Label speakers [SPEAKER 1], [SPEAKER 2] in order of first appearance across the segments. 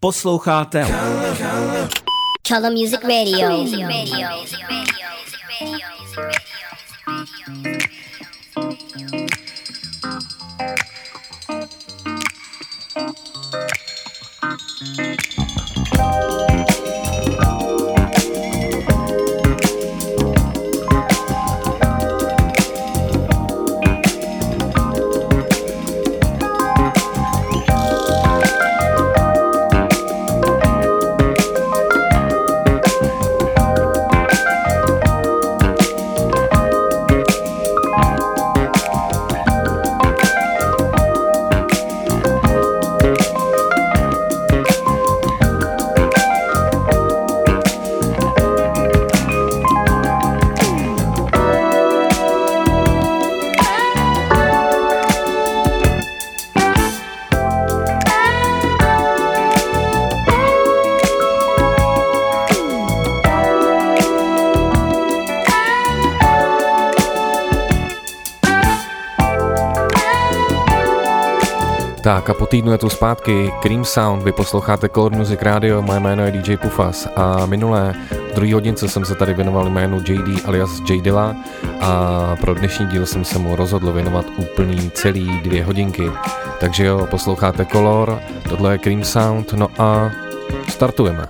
[SPEAKER 1] Posloucháte
[SPEAKER 2] Color Music Radio.
[SPEAKER 3] Tak a po týdnu je tu zpátky Cream Sound, vy posloucháte Color Music Radio, moje jméno je DJ Pufas a minulé v druhé hodince jsem se tady věnoval jménu JD alias J Dilla a pro dnešní díl jsem se mu rozhodl věnovat úplný celý 2 hodinky. Takže jo, posloucháte Color, tohle je Cream Sound, no a startujeme.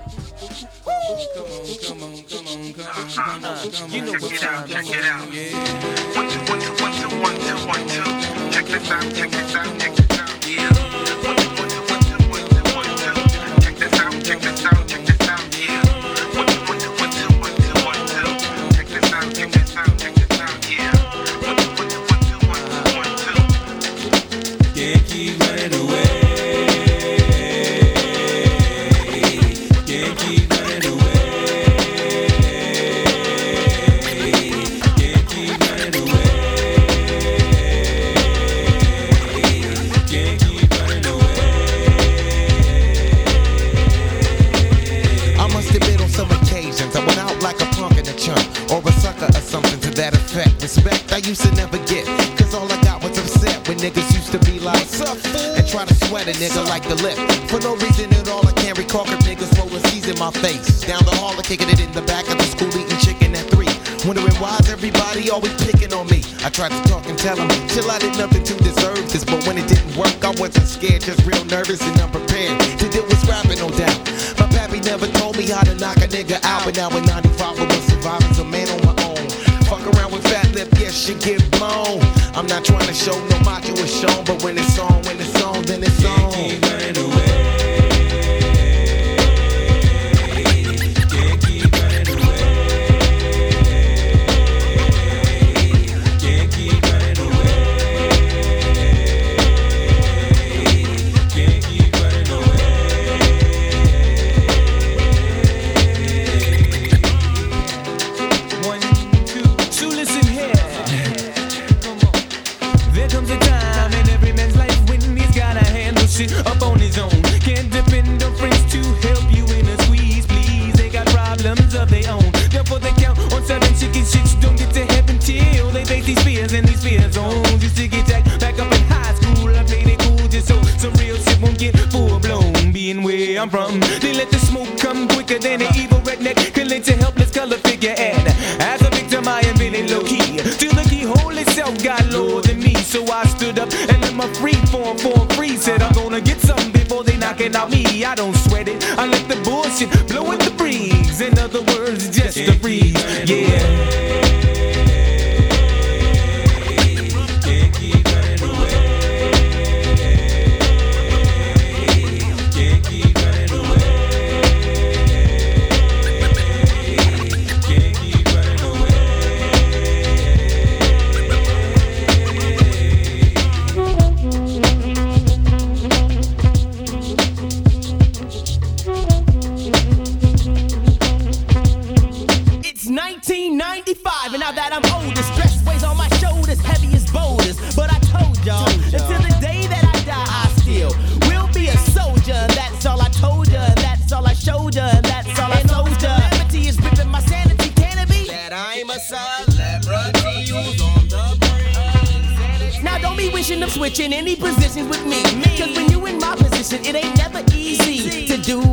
[SPEAKER 4] Switching any positions with me, cause when you in my position, it ain't never easy to do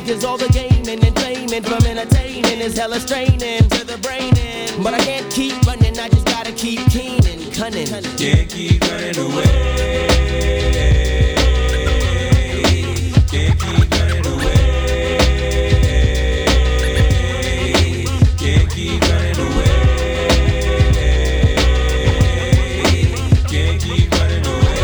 [SPEAKER 1] cause all the gaming and claiming from entertaining is hella straining to the brain. But I can't keep running, I just gotta keep keen and cunning.
[SPEAKER 4] Can't keep running away. Can't keep running away. Can't keep running away. Can't keep running away.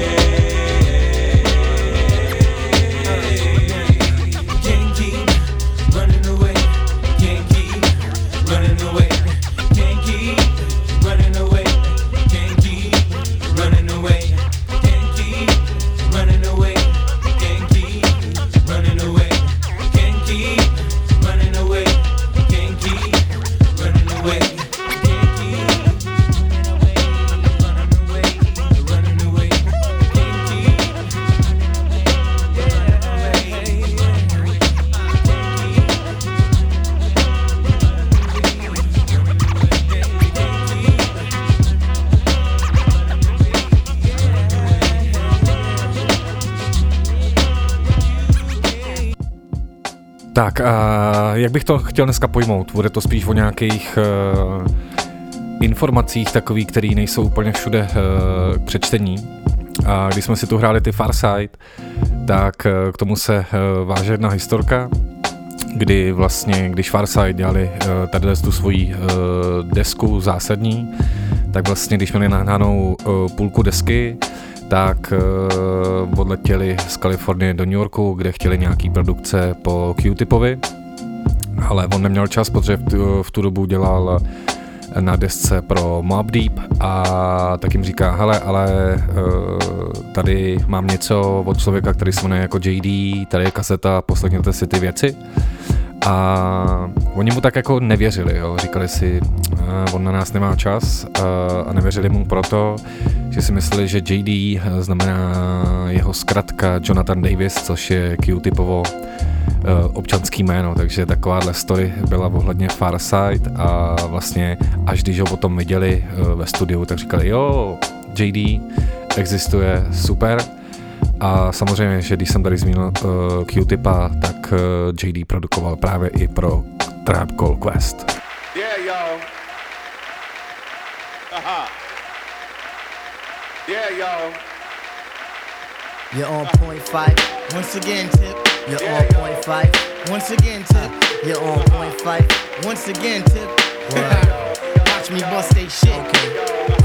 [SPEAKER 4] Can't keep running away. Can't keep running away. Can't keep running away. Can't keep running away. Can't keep running away. Can't keep running away. Can't keep running away. Can't keep running away. Can't keep running away. Can't keep
[SPEAKER 3] Tak a jak bych to chtěl dneska pojmout? Bude to spíš o nějakých informacích takových, které nejsou úplně všude k přečtení. A když jsme si tu hráli ty Farside, tak k tomu se váže jedna historka, kdy vlastně, když Farside dělali tady tu svoji desku zásadní, tak vlastně, když měli nahnanou půlku desky, tak odletěli z Kalifornie do New Yorku, kde chtěli nějaký produkce po Q-Tipovi, ale on neměl čas, protože v tu dobu dělal na desce pro Mobb Deep a tak jim říká, hele, ale tady mám něco od člověka, který se jmenuje jako JD, tady je kaseta, poslechněte si ty věci. A oni mu tak jako nevěřili, jo. Říkali si, on na nás nemá čas a nevěřili mu proto, že si mysleli, že JD znamená jeho zkratka Jonathan Davis, což je Q-Tipovo občanský jméno, takže takováhle story byla ohledně Farside a vlastně až když ho potom viděli ve studiu, tak říkali, jo, JD existuje, super. A samozřejmě, že když jsem tady zmínil Q-Tipa, tak JD produkoval právě i pro Tribe Called Quest.
[SPEAKER 5] Yeah, y'all. Yeah, y'all.
[SPEAKER 6] You're on point five.
[SPEAKER 7] Once again, Tip.
[SPEAKER 6] You're on point five.
[SPEAKER 7] Once again, Tip.
[SPEAKER 6] You're on point five.
[SPEAKER 7] Once again, Tip. Watch me bust they shit.
[SPEAKER 6] Okay.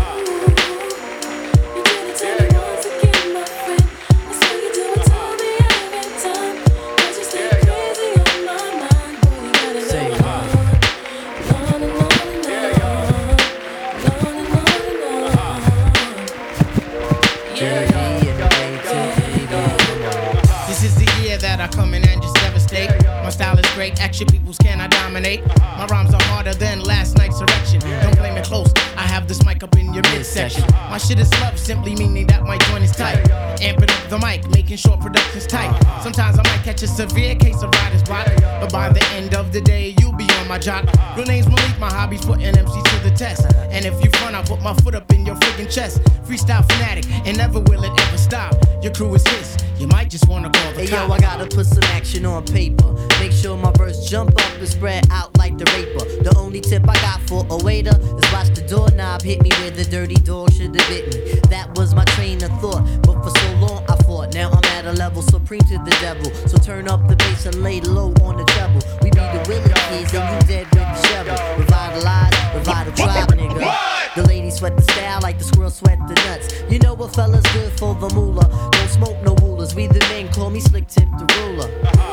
[SPEAKER 7] Action peoples can I dominate? My rhymes are harder than last night's erection. Don't blame it close, I have this mic up in your midsection. My shit is love, simply meaning that my joint is tight. Amping up the mic, making sure production's tight. Sometimes I might catch a severe case of writer's block, but by the end of the day, you'll be on my job. Real name's Malik, my hobby's putting MCs to the test. And if you front, I'll put my foot up in your friggin' chest. Freestyle fanatic, and never will it ever stop. Your crew is his, you might just wanna call the
[SPEAKER 6] cops. Hey yo, I gotta put some action on paper. Make sure my verse jump up and spread out like the raper. The only tip I got for a waiter is watch the doorknob hit me where the dirty dog should have bit me. That was my train of thought, but for so long I fought. Now I'm at a level supreme to the devil. So turn up the bass and lay low on the treble. We be the Willie kids and you dead with the shovel. Revitalize, tribe, nigga. What? The ladies sweat the style like the squirrel sweat the nuts. You know what fella's good for the moolah. Don't smoke no rulers. We the men, call me Slick Tip the ruler.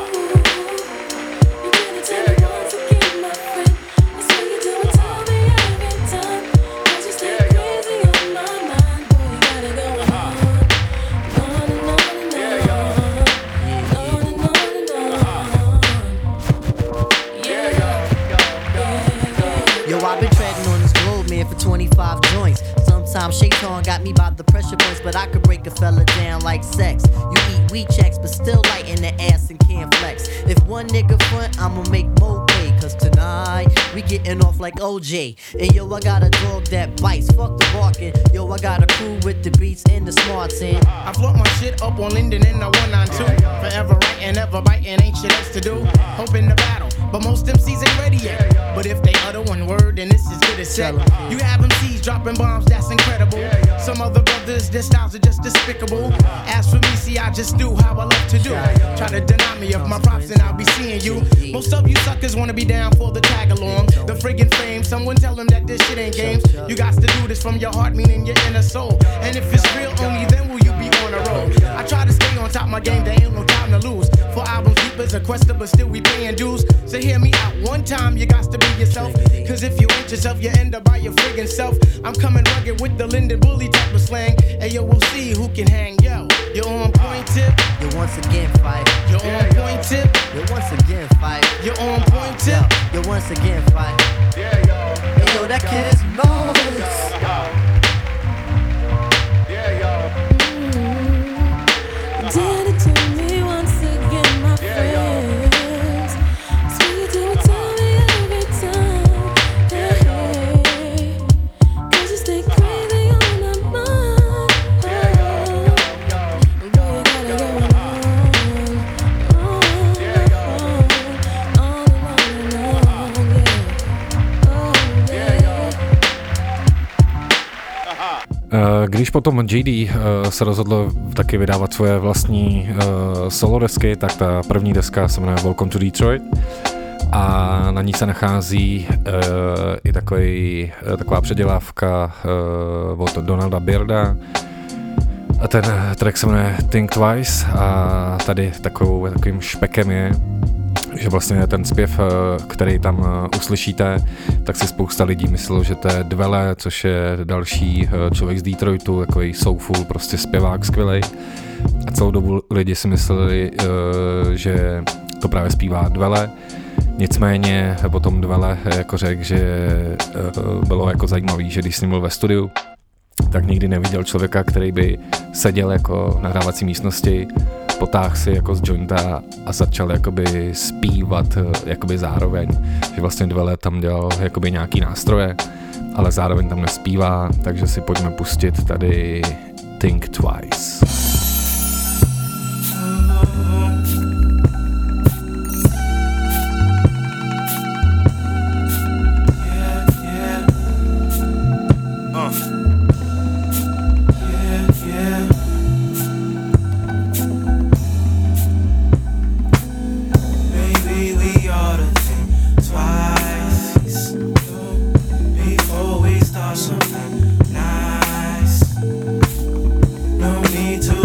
[SPEAKER 6] I've been treading on this globe, man, for 25 joints. Sometimes Shaitan got me by the pressure points, but I could break a fella down like sex. You eat weed checks, but still light in the ass and can't flex. If one nigga front, I'ma make more pay. Cause tonight, we getting off like OJ. And yo, I got a dog that bites, fuck the barking. Yo, I got a crew with the beats and the smarts in.
[SPEAKER 7] I float my shit up on Linden in the 192. Forever writing, ever biting, ain't shit else to do. Hoping to battle, but most MCs ain't ready yet. But if they utter one word, then it's as good as set. You have MCs dropping bombs, that's incredible. Some other brothers, their styles are just despicable. As for me, see, I just do how I love to do. Try to deny me of my props and I'll be seeing you. Most of you suckers wanna be down for the tag along. The friggin' fame, someone tell them that this shit ain't games. You got to do this from your heart, meaning your inner soul. And if it's real, only then will you be on a roll. I try to stay on top of my game, there ain't no time to lose. 4 albums deep as a quester, but still we paying dues. So hear me out one time, you got to be yourself. Cause if you ain't yourself, you end up by your friggin' self. I'm coming rugged with the Linden Bully type of slang. Hey yo, we'll see who can hang. Yo, you're on point tip.
[SPEAKER 6] You once again fight.
[SPEAKER 7] You're on point tip.
[SPEAKER 6] You once again fight.
[SPEAKER 7] You're on point tip.
[SPEAKER 6] You once again fight. Hey yo, that kid is marvelous.
[SPEAKER 8] Did it to me once again, my friends. Sweet you would tell me every time. Hey, 'cause you stay crazy on my mind. Boy, you gotta go on and
[SPEAKER 3] Když potom JD se rozhodl taky vydávat svoje vlastní solo desky, tak ta první deska se jmenuje Welcome to Detroit a na ní se nachází i taková předělávka od Donalda Bearda. A ten track se jmenuje Think Twice a tady takovým špekem je, že vlastně ten zpěv, který tam uslyšíte, tak si spousta lidí myslelo, že to je Dwele, což je další člověk z Detroitu, takový soulful, prostě zpěvák skvělej. A celou dobu lidi si mysleli, že to právě zpívá Dwele. Nicméně potom Dwele jako řekl, že bylo jako zajímavý, že když s ním byl ve studiu, tak nikdy neviděl člověka, který by seděl jako v nahrávací místnosti, potáhl si jako z jointa a začal jakoby zpívat jakoby zároveň, že vlastně Dwele tam dělal jakoby nějaký nástroje, ale zároveň tam nespívá, takže si pojďme pustit tady Think Twice.
[SPEAKER 4] Something nice. No need to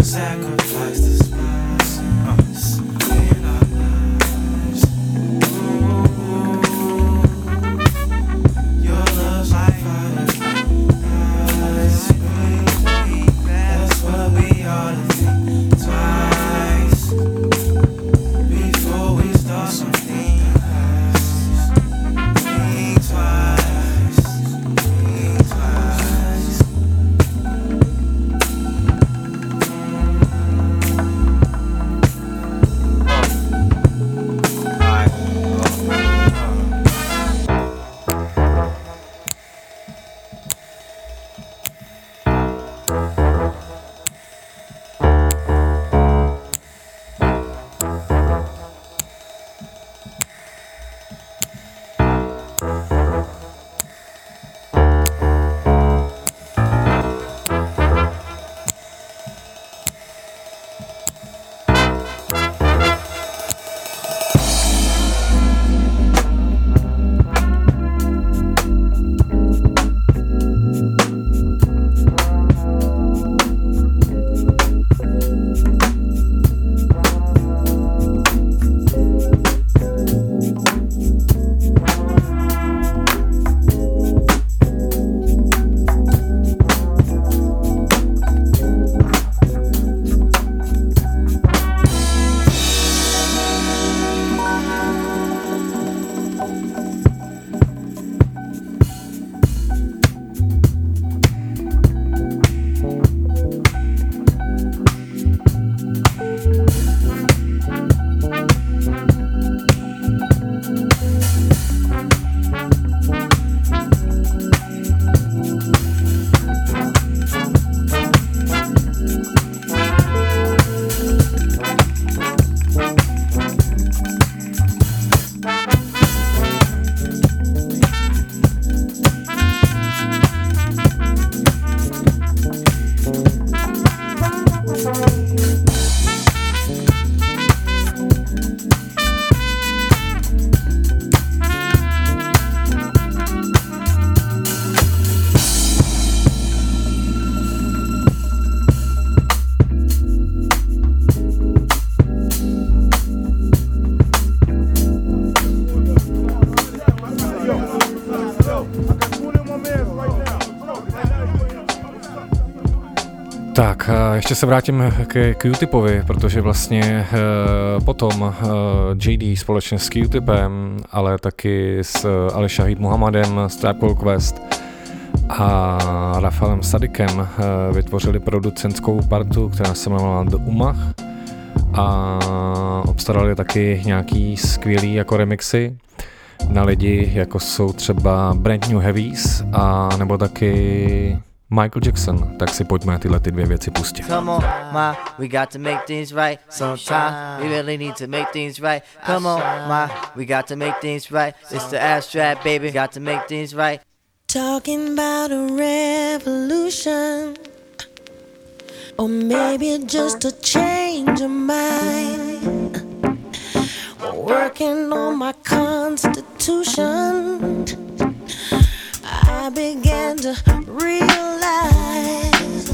[SPEAKER 3] Tak ještě se vrátím k Q-Tipovi, protože vlastně potom JD společně s Q-Tipem, ale taky s Ali Shahid Muhammadem z Tribe Called Quest a Rafaelem Sadikem vytvořili producentskou partu, která se jmenovala The Umach a obstarali taky nějaký skvělý jako remixy na lidi, jako jsou třeba Brand New Heavies a nebo taky Michael Jackson, tak si pojďme tyhle ty dvě věci pustit.
[SPEAKER 6] Come on, ma, we got to make things right. Sometimes we really need to make things right. Come on, ma, we got to make things right. It's the abstract, baby, got to make things right.
[SPEAKER 8] Talking about a revolution, or maybe just a change of mind. Working on my constitution, I began to realize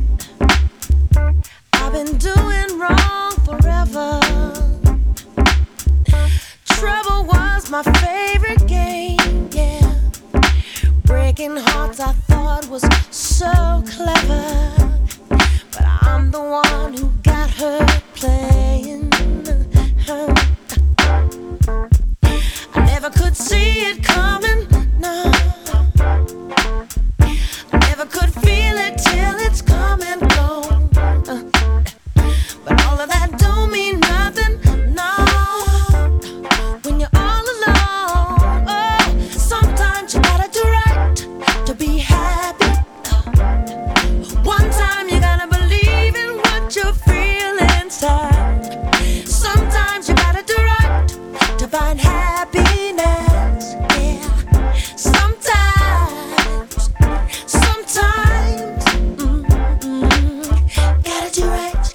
[SPEAKER 8] I've been doing wrong forever. Trouble was my favorite game, yeah. Breaking hearts I thought was so clever, but I'm the one who got her playing. I never could see it coming, no. I never could feel it till it's come and gone. But all of that don't mean nothing, no. When you're all alone, oh, sometimes you gotta do right to be happy. One time you gotta believe in what you feel inside. Sometimes you gotta do right to find happiness, yeah. Sometimes, gotta do right,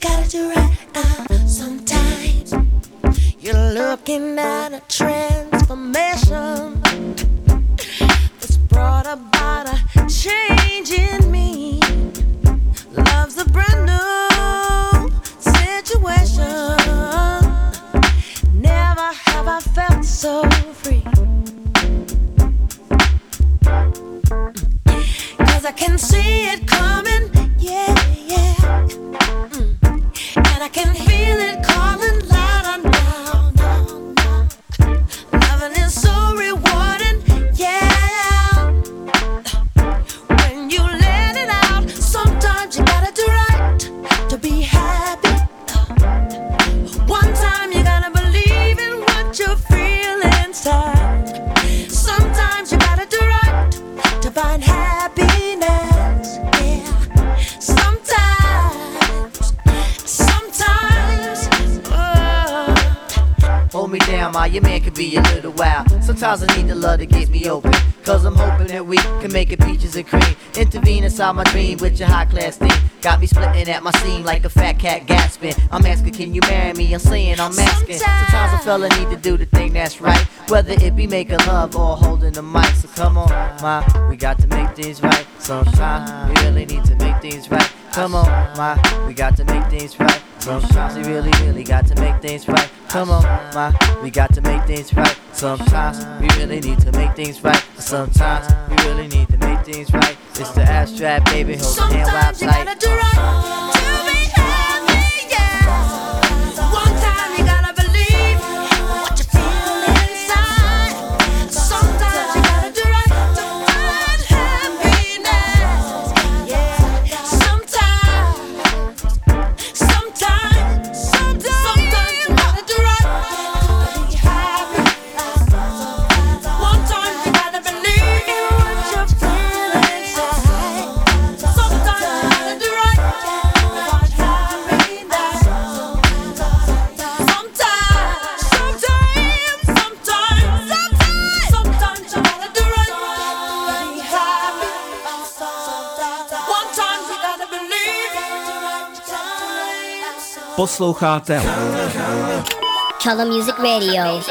[SPEAKER 8] sometimes you're looking at a transformation that's brought about a change in me. Love's a brand new situation. Never have I felt so free. 'Cause I can see it coming, yeah, yeah. And I can feel it calling louder now, now, now. Loving is so rewarding, yeah. When you let it out, sometimes you gotta do right to be happy. One time you gotta believe in what you feel inside. Sometimes you gotta do right to find happiness, yeah. Sometimes, oh.
[SPEAKER 6] Hold me down, ma, your man could be a little wild. Sometimes I need the love to get me open, 'cause I'm hoping that we can make it peaches and cream. Intervene inside my dream with your high class theme. Got me splitting at my seam like a fat cat gasping. I'm asking, can you marry me? I'm saying I'm asking. Sometimes a fella need to do the thing that's right, whether it be making love or holding the mic. So come on, ma, we got to make things right. Sometimes we really need to make things right. Come on, ma, we got to make things right. Sometimes we really, really got to make things right. Come on, ma, we got to make things right. Sometimes we really need to make things right. Sometimes we really need to make things right. It's the abstract, baby, hold the hand while I
[SPEAKER 8] Sometimes you gotta do right to be happy, yeah. One time you gotta believe what you feel inside. Sometimes you gotta do right to find happiness, yeah. Sometimes you gotta do right to be happy. One time you gotta believe in what you feel inside. Sometimes you gotta do right to find happiness. Sometimes you gotta do right to be happy. One time you gotta believe.
[SPEAKER 9] Posloucháte
[SPEAKER 2] Color Music Radio.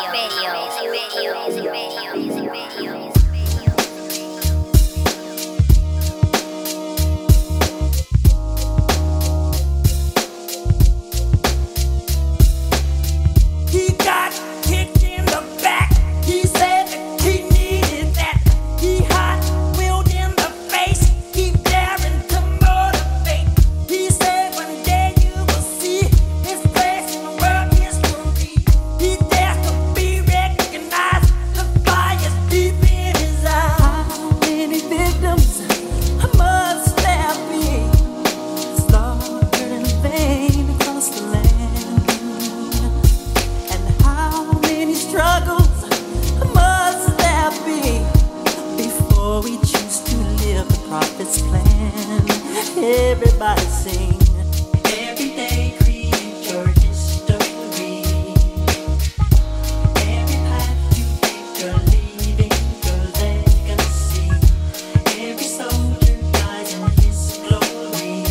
[SPEAKER 4] He got kicked in the back. He said that he needed that. He hot wheeled in the face. He daring to motivate. He said
[SPEAKER 9] everybody sing. Every day create your history. Every path you take, you're leaving your legacy. Every soldier dies in his glory.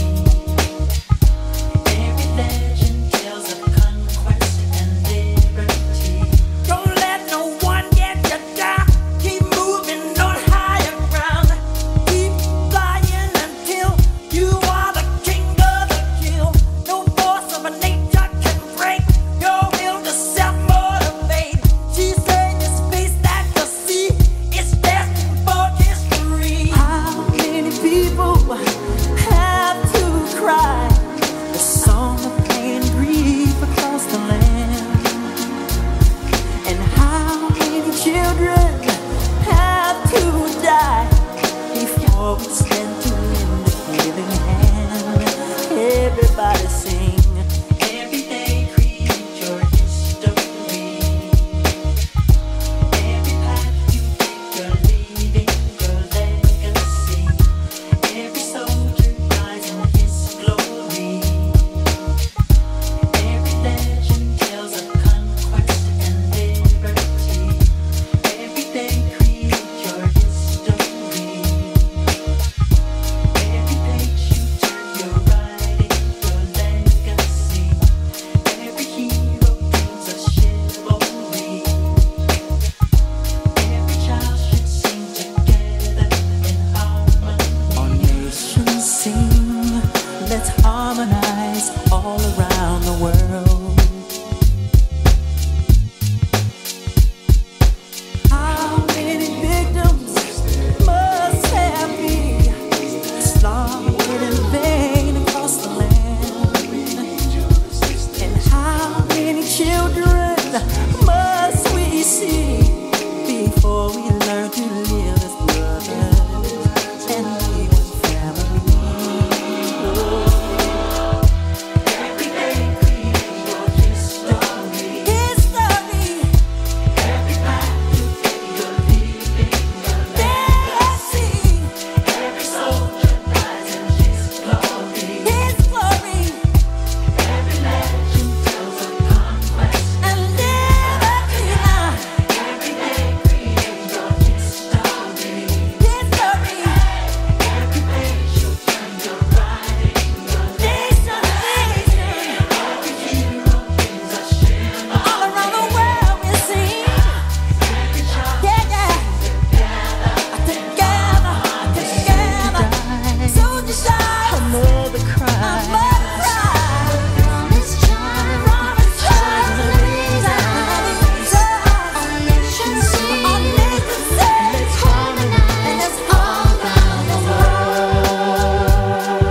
[SPEAKER 9] Every legend tells of conquest and liberty. Don't let no one get you down. Keep moving on higher ground. Keep flying until you are the king of the kill. No force of a nature can break your will to self-motivate. She said this face that you see is destined for history. How many people have to cry the song of pain and grief across the land? And how many children have to die before we stand to lend a healing hand? Everybody sing. Every day create your history. Every path you take, you're leaving your legacy. Every soldier dies in his glory. Every legend tells of conquest and liberty. Every day create your history. Every page you turn, you're writing your legacy. Every hero brings a chivalry. Every child should sing together in harmony. Our nations sing, let's harmonize all around the world. How many victims must have been slaughtered in vain across the land? And how many children must we see before we learn to live as brothers and live as family? Every day create your history. History. Every path you take, you're leaving your legacy. Every soldier dies in his glory. His glory. Every legend tells of conquest and liberty. Every day create your history. History. Every page you turn, you're writing your nation. Every hero brings a shield. All around the world we sing. Every child together. Soldier shine. A mother cry. Promise child. Our nation sing. Let's harmonize all around the world.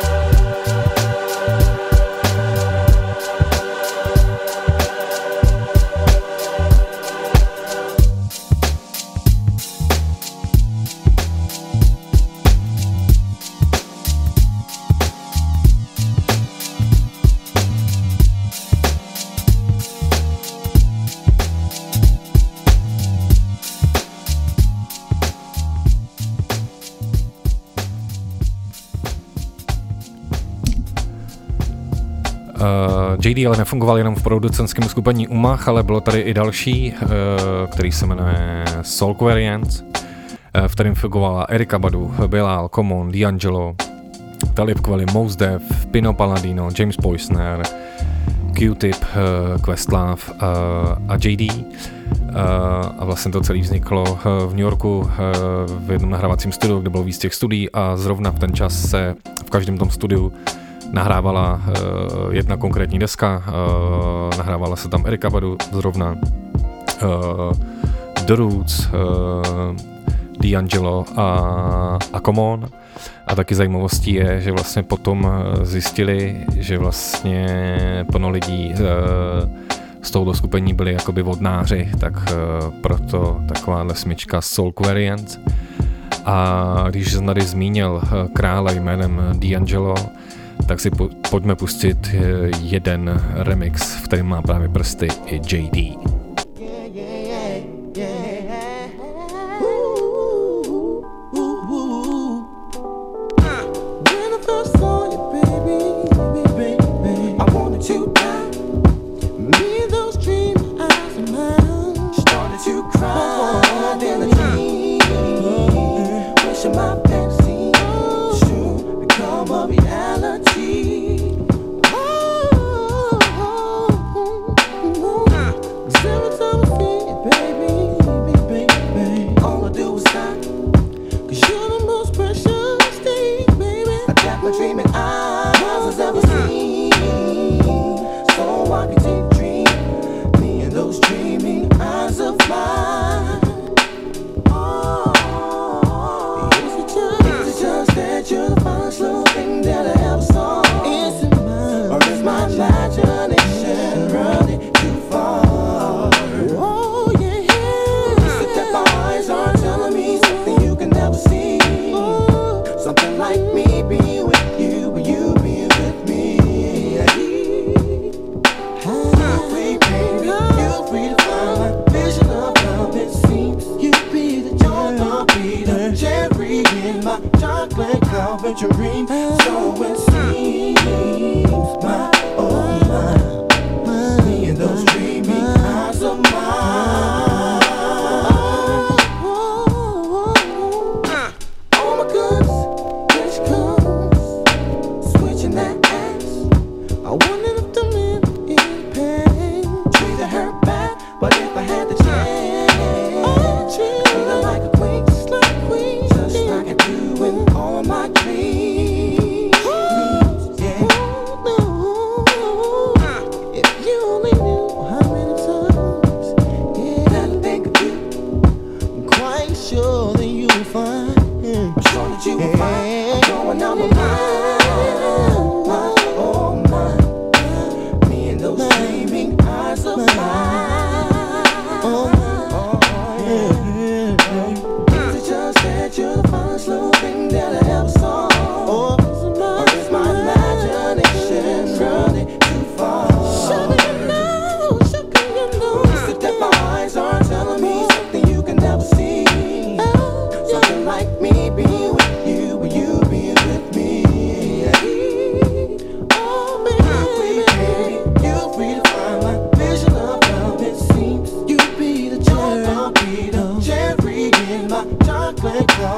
[SPEAKER 3] JD ale nefungoval jenom v producentském skupení Umach, ale bylo tady i další, který se jmenuje Soulquarians, v kterém fungovala Erykah Badu, Bilal, Common, D'Angelo, Talib Kweli, Mos Def, Pino Palladino, James Poysner, Q-Tip, Questlove a JD. A vlastně to celé vzniklo v New Yorku v jednom nahrávacím studiu, kde bylo víc těch studií a zrovna v ten čas se v každém tom studiu nahrávala jedna konkrétní deska, nahrávala se tam Erykah Badu zrovna, The Roots, D'Angelo a Common. A taky zajímavostí je, že vlastně potom zjistili, že vlastně plno lidí z tohoto skupení byli jakoby vodnáři, tak proto takováhle smyčka Soulquarians. A když jsem tady zmínil krále jménem D'Angelo, tak si pojďme pustit jeden remix, v kterém má právě prsty i JD.
[SPEAKER 9] When I first saw you,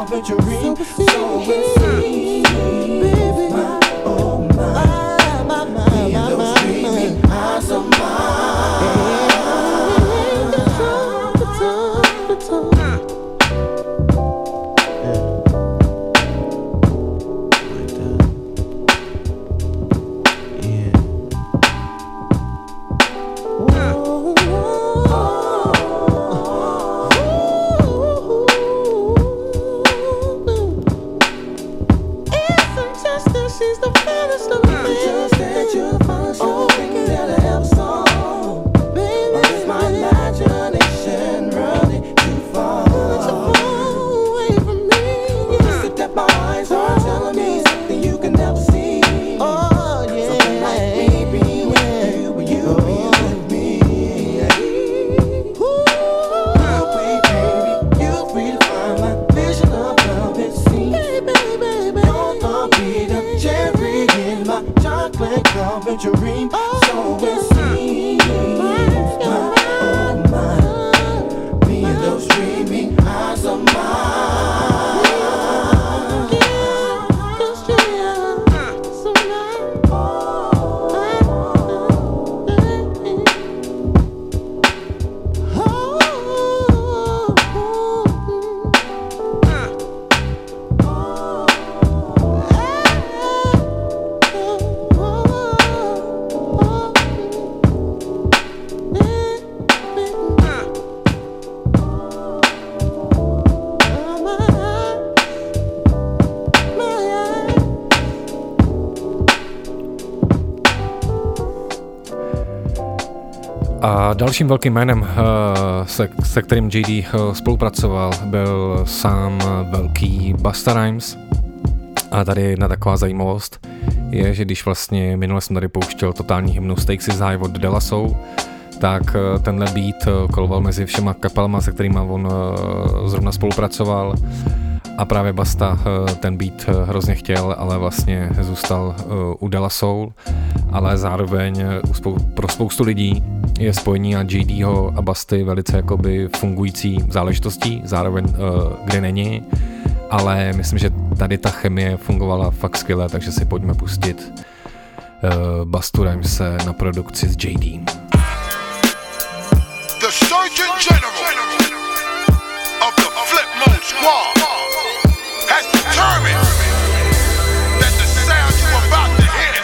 [SPEAKER 10] carpentry, so it seems. Baby, my, oh my, me and those dreaming eyes of mine.
[SPEAKER 3] A dalším velkým jménem, se kterým JD spolupracoval, byl sám velký Busta Rhymes. A tady jedna taková zajímavost je, že když vlastně minule jsem tady pouštěl totální hymnu Stakes is High od De La Soul, tak tenhle beat koloval mezi všema kapelama, se kterýma on zrovna spolupracoval. A právě Busta ten beat hrozně chtěl, ale vlastně zůstal u De La Soul. Ale zároveň pro spoustu lidí je spojení a JDho a Busty velice jakoby fungující záležitostí, zároveň kde není. Ale myslím, že tady ta chemie fungovala fakt skvěle, takže si pojďme pustit Bustu Rhymese na produkci s JD.
[SPEAKER 11] The Surgeon General of the Flip Mode Squad has determined that the sound you're about to hear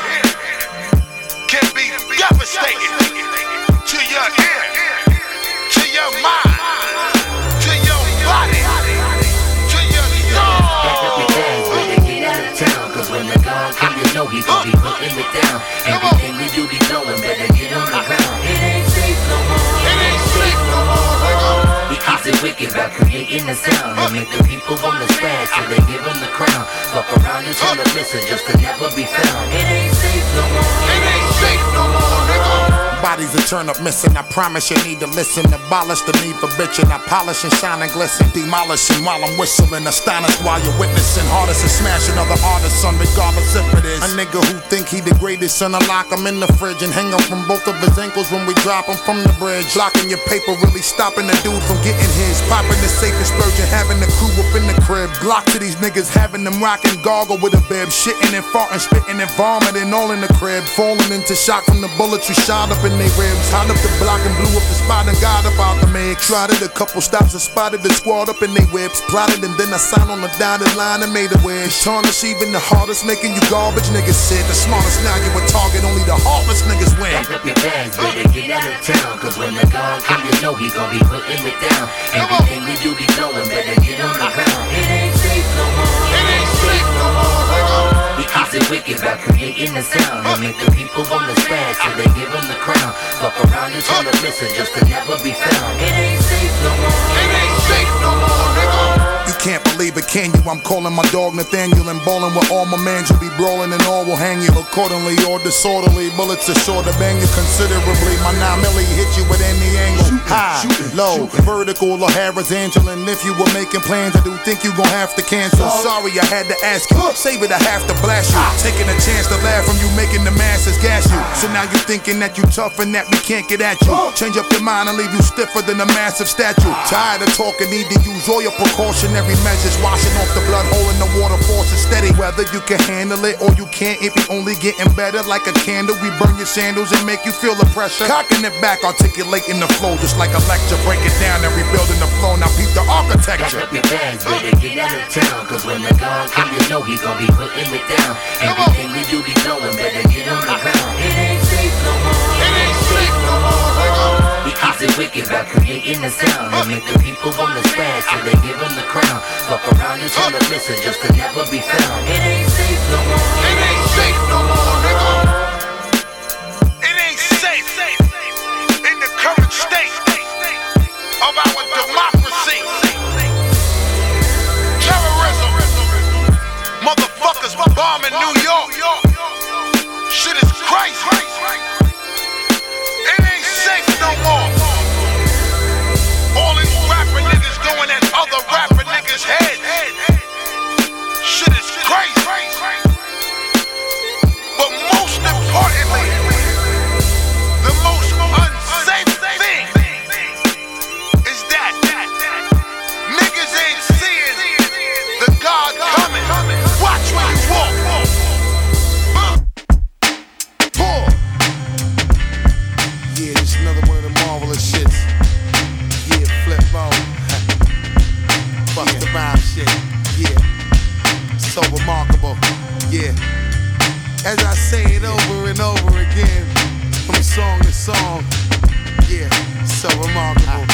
[SPEAKER 11] can be devastating to your ear, to your mind, to your body, to your soul.
[SPEAKER 12] Get out of town, cause when the gong come, you know he gon' be putting it down. Everything we do be blowing, better get on the ground. It ain't safe no more. It ain't safe no more, nigga. He keeps it wicked about creating the sound and make the people wanna splash till they give him the crown. Fuck around and turn the listen just to never be found. It ain't safe no more. It ain't safe no more, nigga.
[SPEAKER 11] Bodies that turn up missing, I promise you need to listen. Abolish the need for bitching, I polish and shine and glisten. Demolishing while I'm whistling, astonished while you're witnessing. Hardest and smashing other artists, son, regardless if it is a nigga who think he the greatest, son. I lock him in the fridge and hang him from both of his ankles when we drop him from the bridge. Blocking your paper, really stopping the dude from getting his. Popping the safe explosion, having the crew up in the crib. Glock to these niggas, having them rocking goggle with a bib. Shitting and farting, spitting and vomiting all in the crib. Falling into shock from the bullets you shot up in they ribs. Hot up the block and blew up the spot and got up out the mix. Tried it a couple stops and spotted the squad up in they whips. Plotted and then I signed on the dotted line and made a wish. Tarnish even the hardest, making you garbage niggas sit. The smartest now you a target, only the heartless niggas win.
[SPEAKER 12] Pack up your bags, better get out of town, cause when the gong come, you know he gon' be putting it down. Everything we do be blowing, better get on the ground. It ain't safe no more. It ain't safe no more, nigga. He keeps it wicked about creating the sound and make the people wanna splash till they give him the crown. Fuck around and turn the listen just to never be found. It ain't safe no more. It ain't safe no more, nigga.
[SPEAKER 11] You can't believe it, can you? I'm calling my dog Nathaniel and ballin' with all my mans. You'll be brawling and all will hang you accordingly or disorderly. Bullets are sure to bang you considerably. My 9 milli hit you at any angle. High, low, vertical or horizontal. And if you were making plans, I do think you gon' have to cancel. Sorry, I had to ask you. Save it, I have to blast you. Taking a chance to laugh from you, making the masses gas you. So now you thinking that you tough and that we can't get at you. Change up your mind and leave you stiffer than a massive statue. Tired of talking, need to use all your precautionary measures. Washing off the blood hole in the water, force is steady. Whether you can handle it or you can't, it be only getting better. Like a candle, we burn your sandals and make you feel the pressure. Cocking it back, articulating the flow, just like a lecture. Break it down and rebuilding the flow. Now peep the architecture.
[SPEAKER 12] Pack up your bags, better get out of town. Cause when the God come, you know he gon' be putting it down. Everything we do be going, better get on the ground. It ain't safe no more. It ain't safe no more. He keeps it wicked by creating the sound and make the people wanna spaz till they give him the crown. Fuck around and tell them listen just to never be found. It ain't safe no more. It ain't safe no more, nigga.
[SPEAKER 11] It ain't safe in the current state of our democracy. Terrorism, motherfuckers bombing New York. Shit is crazy. It ain't safe no more. All these rapper niggas going at other rapper niggas' heads. Shit is crazy. But most importantly, the most unsafe thing is that niggas ain't seeing the God coming. Watch where you walk. Yeah, just another one of the marvelous shits. Yeah, flip mode. Bust the rhyme shit. Yeah, so remarkable. Yeah, as I say it over and over again, from song to song. Yeah, so remarkable.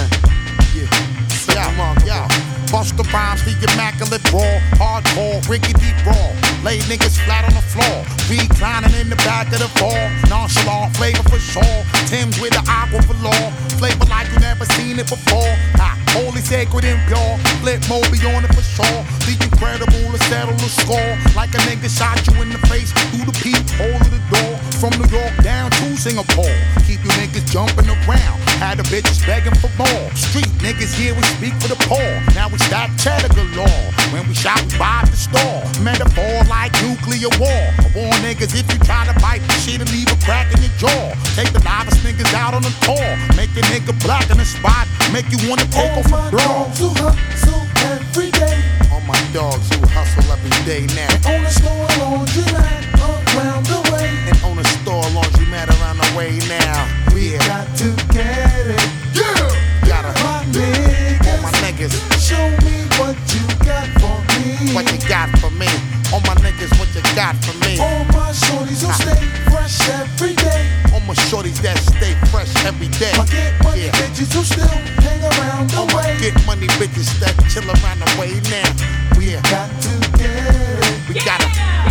[SPEAKER 11] Yeah, so remarkable. Bust the rhymes, the immaculate raw, hardcore, rickety raw. Lay niggas flat on the floor, reclining in the back of the fall. Nonchalant flavor for sure. Tim's with the aqua for law. Flavor like you never seen it before. Holy, sacred, and pure. Flip mode be on it for sure. The incredible to settle the score. Like a nigga shot you in the face through the peephole of the door. From New York down to Singapore. Keep you niggas jumping around. Had the bitches begging for more. Street niggas here, we speak for the poor. Now we stack cheddar galore. When we shot, we rob the store. Metaphor like nuclear war. I warn niggas if you try to bite the shit and leave a crack in your jaw. Take the novice niggas out on the tour. Make a nigga black in the spot. Make you wanna take off a girl.
[SPEAKER 10] Who hustle every day.
[SPEAKER 11] All my dogs who hustle every day now.
[SPEAKER 10] And on a store laundromat around the way.
[SPEAKER 11] And on a store laundromat around the way now.
[SPEAKER 10] We got to get it.
[SPEAKER 11] Yeah. Gotta
[SPEAKER 10] my niggas.
[SPEAKER 11] All my niggas.
[SPEAKER 10] Show me what you got for me.
[SPEAKER 11] What you got for me? All my niggas, what you got for me?
[SPEAKER 10] All my shorties who stay fresh every day.
[SPEAKER 11] All my shorties that stay fresh every day.
[SPEAKER 10] My get money bitches who still hang around the way.
[SPEAKER 11] Get money bitches that chill around the way now. We
[SPEAKER 10] got to get it.
[SPEAKER 11] We gotta.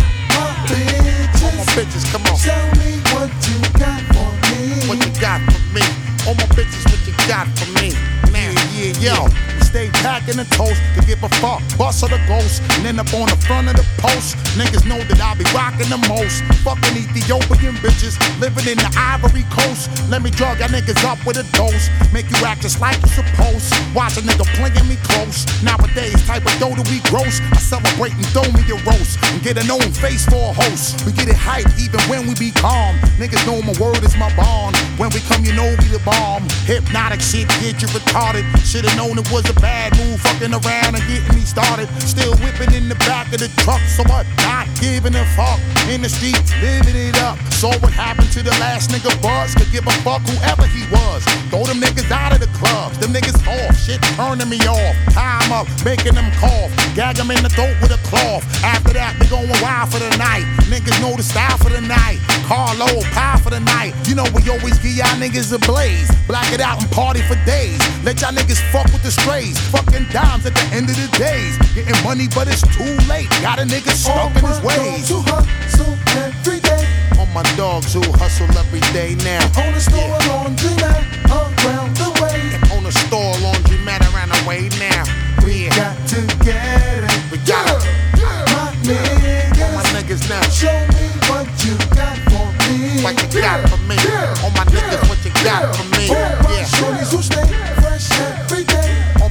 [SPEAKER 10] My bitches.
[SPEAKER 11] All my bitches, come on.
[SPEAKER 10] Tell me what you got for me.
[SPEAKER 11] What you got for me? All my bitches, what you got for me? Now, yo. Stay packing the toast to give a fuck. Bust of the ghost and end up on the front of the post. Niggas know that I be rocking the most. Fucking Ethiopian bitches living in the Ivory Coast. Let me drug y'all niggas up with a dose. Make you act just like you supposed. Watch a nigga playing me close. Nowadays, type of dough that we gross. I celebrate and throw me a roast and get a known face for a host. We get it hype even when we be calm. Niggas know my word is my bond. When we come, you know we the bomb. Hypnotic shit get you retarded. Should've known it was a bad move, fucking around and getting me started. Still whipping in the back of the truck, so what? Not giving a fuck. In the streets, living it up. So what happened to the last nigga Buzz? Could give a fuck whoever he was. Throw them niggas out of the clubs. Them niggas off, shit turning me off. Time up, making them cough. Gag them in the throat with a cloth. After that, they going wild for the night. Niggas know the style for the night. Carlo, pie for the night. You know we always give y'all niggas a blaze. Black it out and party for days. Let y'all niggas fuck with the strays. Fucking dimes at the end of the days. Getting money, but it's too late. Got a nigga stuck in his ways.
[SPEAKER 10] Who hustle every day.
[SPEAKER 11] All my dogs who hustle every day now.
[SPEAKER 10] On a store laundromat around the way.
[SPEAKER 11] On a store laundromat around the way now.
[SPEAKER 10] We got to get it.
[SPEAKER 11] We got it.
[SPEAKER 10] My niggas.
[SPEAKER 11] All my niggas now.
[SPEAKER 10] Show me what you got for me.
[SPEAKER 11] What you got for me? All my niggas, what you got for me?
[SPEAKER 10] Yeah. Shorties who stay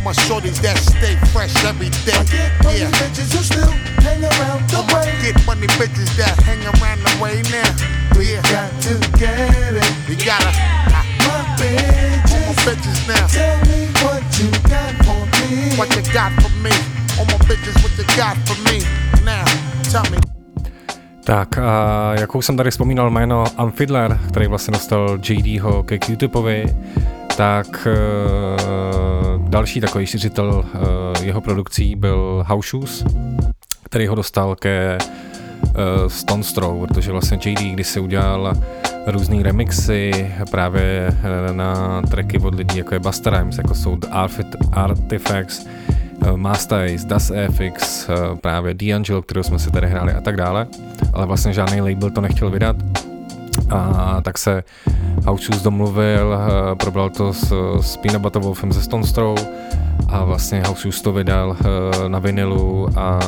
[SPEAKER 11] my shorties that stay fresh every day.
[SPEAKER 10] Yeah. Bitches who still hang around the way.
[SPEAKER 11] Get money bitches that hang around the way now.
[SPEAKER 10] We got to get it.
[SPEAKER 11] You gotta.
[SPEAKER 10] My bitches.
[SPEAKER 11] All my bitches now.
[SPEAKER 10] Tell me what you got for me.
[SPEAKER 11] What you got for me? All my bitches, what you got for me? Now, tell me.
[SPEAKER 3] Tak a jak už jsem tady vzpomínal jméno Unfiddler, který vlastně dostal JDho ke Q-Tipovi, tak další takový šiřitel jeho produkcí byl House Shoes, který ho dostal ke Stones Throw, protože vlastně JD kdysi udělal různý remixy právě na tracky od lidí, jako je Busta Rhymes, jako jsou The Artifacts, Masta Ace, Das FX, právě D'Angelo, kterou jsme si tady hráli a tak dále, ale vlastně žádný label to nechtěl vydat a tak se House Shoes domluvil, probral to s Peanut Butter Wolfem ze Stones Throw a vlastně House Shoes to vydal na vinilu a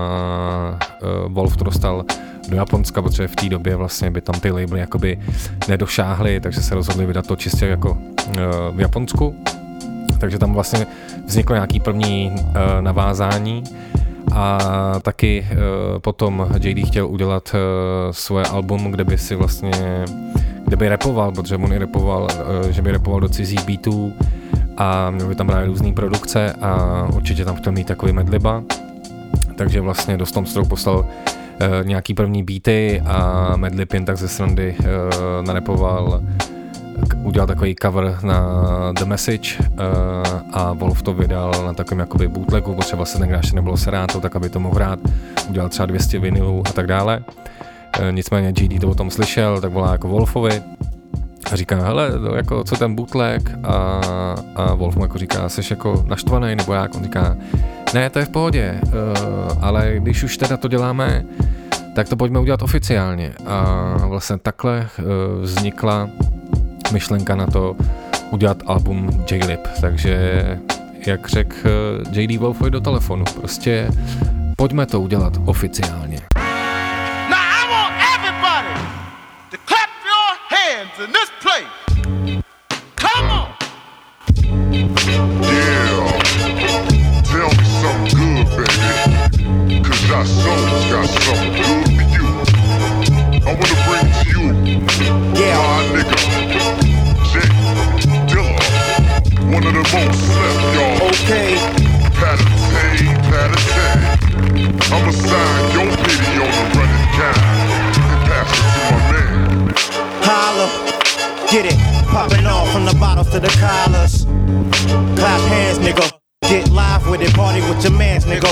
[SPEAKER 3] Wolf to dostal do Japonska, protože v té době vlastně by tam ty labely jakoby nedošáhly, takže se rozhodli vydat to čistě jako v Japonsku. Takže tam vlastně vzniklo nějaký první navázání a taky potom JD chtěl udělat svoje album, kde by si vlastně, kde by rapoval, protože on i rapoval, že by rapoval do cizích beatů a měl by tam právě různý produkce a určitě tam chtěl mít takový medliba, takže vlastně do Stones Throw poslal nějaký první beaty a Madlib jen tak ze srandy narepoval, udělal takový cover na The Message a Wolf to vydal na takovém jakoby bootlegu, protože vlastně tenkrát ještě nebylo Serato, tak aby to mohl hrát, udělal třeba 200 vinylů a tak dále. Nicméně GD to o tom slyšel, tak volá jako Wolfovi a říká, hele, jako, co ten bootleg a Wolf mu jako říká, jsi jako naštvaný nebo jak? On říká, ne, to je v pohodě, ale když už teda to děláme, tak to pojďme udělat oficiálně. A vlastně takhle vznikla myšlenka na to udělat album J-Lib. Takže, jak řekl J.D. Wolfovi do telefonu, prostě pojďme to udělat oficiálně.
[SPEAKER 13] Now I want everybody to clap your hands in this place. Come on!
[SPEAKER 14] Yeah, tell me something good, baby, 'cause our souls got something good for you. I wanna bring to you, my nigga, J Dilla, one of the most slept, y'all.
[SPEAKER 13] Okay.
[SPEAKER 14] Patty. I'ma sign your video on the running guy and pass it to my man.
[SPEAKER 15] Holla, get it, popping off from the bottles to the collars. Clap hands, nigga. Get live with it, party with your mans, nigga.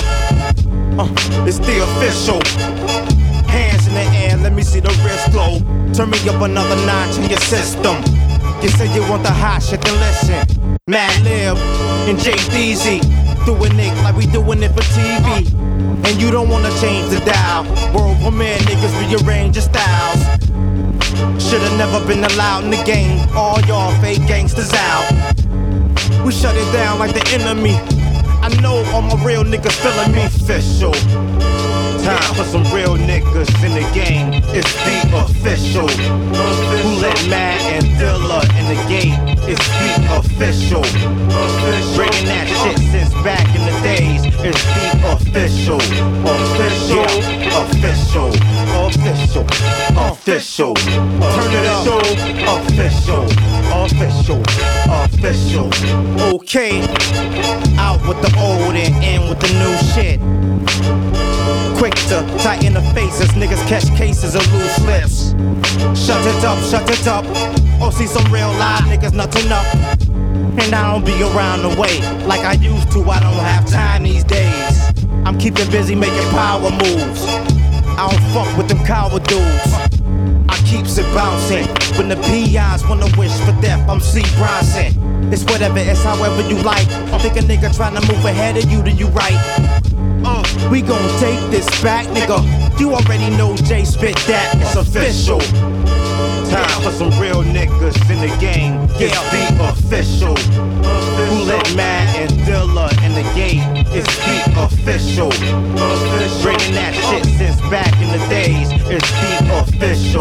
[SPEAKER 15] It's the official. Hands in the air, let me see the wrist glow. Turn me up another notch in your system. You say you want the hot shit, then listen. Madlib and J-Deezy doing it like we doing it for TV. And you don't wanna change the dial. World premiere niggas rearrange your styles. Should've never been allowed in the game. All y'all fake gangsters out. We shut it down like the enemy. I know all my real niggas feeling me. Official. Time for some real niggas in the game. It's the official. Who let Matt and Dilla in the gate? It's the official. Bringing that shit since back in the days. It's the official. Official. Official. Official. Official. Turn it up. Official. Official. Official. Okay. Out with the old and in with the new shit. Quick to tighten the faces, niggas catch cases of loose lips. Shut it up. Oh, see some real live niggas nothing up. And I don't be around the way like I used to, I don't have time these days. I'm keeping busy making power moves. I don't fuck with them coward dudes. I keeps it bouncing. When the peons wanna wish for death, I'm C. Bronson. It's whatever, it's however you like. I think a nigga tryna move ahead of you, do you right? We gon' take this back, nigga. You already know Jay spit that, it's official. Time for some real niggas in the game. It's the official. Who let Matt and Dilla in the gate? It's the official. Bringing that shit since back in the days. It's the official.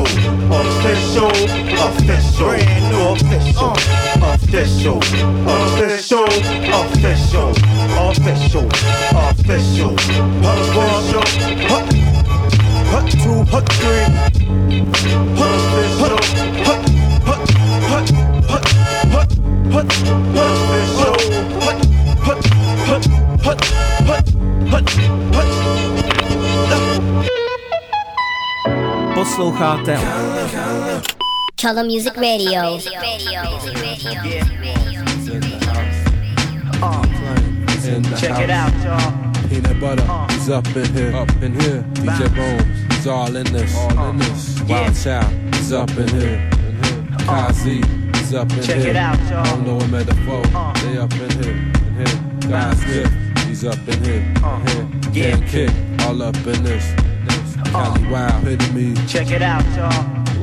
[SPEAKER 15] Official. Brand new official. Official. official, official, official. Hut one, hut two, hut three. Official, hut, hut, hut, hut, hut, hut, official, hut, hut, hut, hut, hut, hut, hut.
[SPEAKER 16] Posloucháte
[SPEAKER 2] Color Music Radio.
[SPEAKER 17] Check it out, y'all. Peanut butter, he's up in here. DJ Bones, he's all in this, Wild Child, he's up in here. Kazi, he's up in here.
[SPEAKER 6] Check it out, y'all.
[SPEAKER 17] Don't know him at the foe, they up in here. Guys, he's up in here. Gang Kick, all up in this. Cali Wild, epitome.
[SPEAKER 6] Check it out, y'all.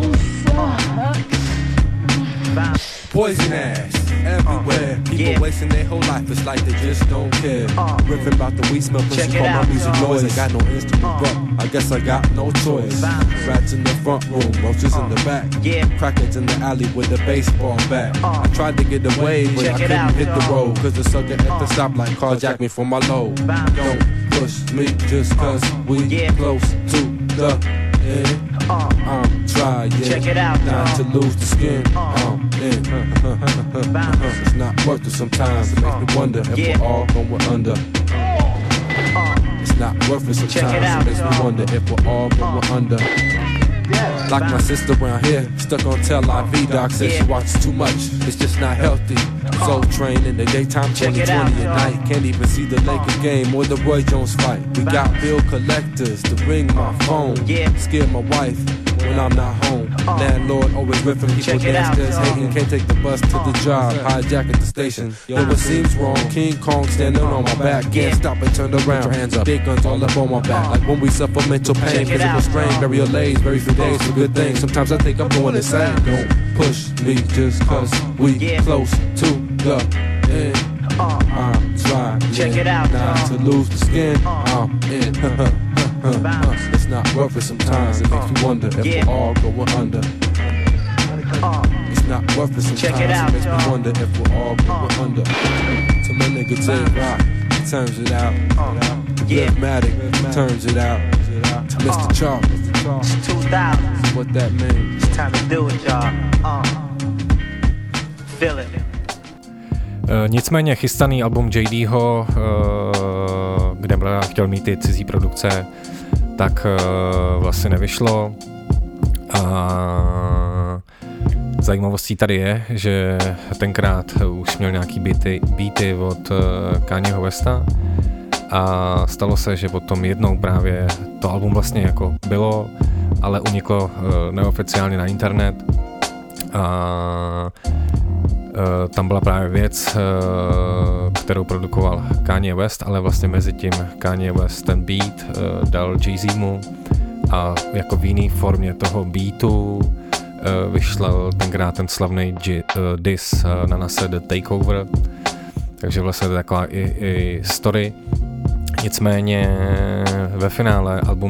[SPEAKER 17] Poison ass everywhere. People wasting their whole life, it's like they just don't care. Riffing about the weed smell, pussy, call my music noise. I got no instrument, but I guess I got no choice. Rats in the front room, roaches in the back. Crackheads in the alley with a baseball bat. I tried to get away, but I couldn't hit the road. Cause the sucker at the stoplight carjacked me from my load. Don't push me just cause we close to the end. I'm trying
[SPEAKER 6] Check it out,
[SPEAKER 17] not to lose the skin. It's not worth it sometimes. It makes me wonder if we're all going under. It's not worth it sometimes. It makes me wonder if we're all going under. Like my sister around here, stuck on Tel Aviv. Doc says she watches too much. It's just not healthy. Soul Train in the daytime, 2020 at night. Can't even see the Lakers game or the Roy Jones fight. We got bill collectors to ring my phone. Scare my wife when I'm not home. Landlord always ripping people downstairs, hating. Can't take the bus to the job. Hijack at the station. Yo, it seems wrong. King Kong standing on my back. Can't stop and turn around. Put your hands up. Big guns all up on my back. Like when we suffer mental pain, physical strain, burial lays, very few days for good things. Sometimes I think I'm going insane. Don't push me just cause we close to the end. I'm trying not to lose the skin. I'm in. It's not worth it sometimes. It makes me wonder if we're all going under. It's not worth it sometimes. It makes me wonder if we're all going under. To my nigga J-Rock, he turns it out. Rhythmatic turns it out. To Mr. Chalk,
[SPEAKER 6] It's 2000.
[SPEAKER 17] What that means?
[SPEAKER 6] It's time to do it, y'all. Feel it.
[SPEAKER 3] Nicméně chystaný album JDho, kde Bleda chtěl mít ty cizí produkce, tak vlastně nevyšlo. A zajímavostí tady je, že tenkrát už měl nějaký beaty od Kanyeho Westa a stalo se, že potom jednou právě to album vlastně jako bylo, ale uniklo neoficiálně na internet a tam byla právě věc, kterou produkoval Kanye West, ale vlastně mezi tím Kanye West ten beat dal Jay-Zmu a jako v jiný formě toho beatu vyšel tenkrát ten slavný diss na Nase The Takeover, takže vlastně to je taková i story. Nicméně ve finále album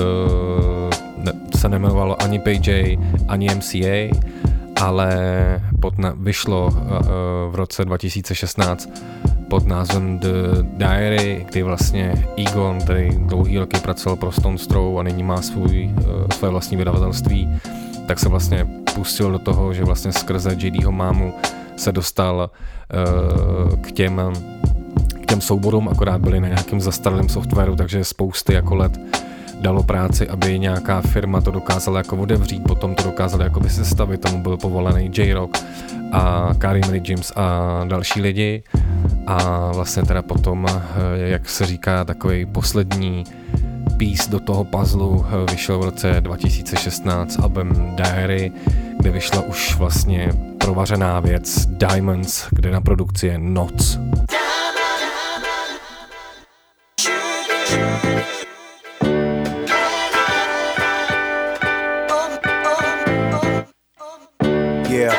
[SPEAKER 3] se nejmenovalo ani PJ, ani MCA, ale vyšlo v roce 2016 pod názvem The Diary, kdy vlastně Egon, který dlouhý roky pracoval pro Stone Throw a nyní má své vlastní vydavatelství, tak se vlastně pustil do toho, že vlastně skrze JDho mámu se dostal k těm souborům, akorát byly na nějakém zastaralém softwaru, takže spousty jako let dalo práci, aby nějaká firma to dokázala jako otevřít, potom to dokázali jako sestavit, tomu byl povolený J-Rock a Karim Lee James a další lidi a vlastně teda potom, jak se říká, takový poslední piece do toho puzzlu vyšel v roce 2016 album Diary, kde vyšla už vlastně provařená věc Diamonds, kde na produkci je Noc.
[SPEAKER 15] Yeah.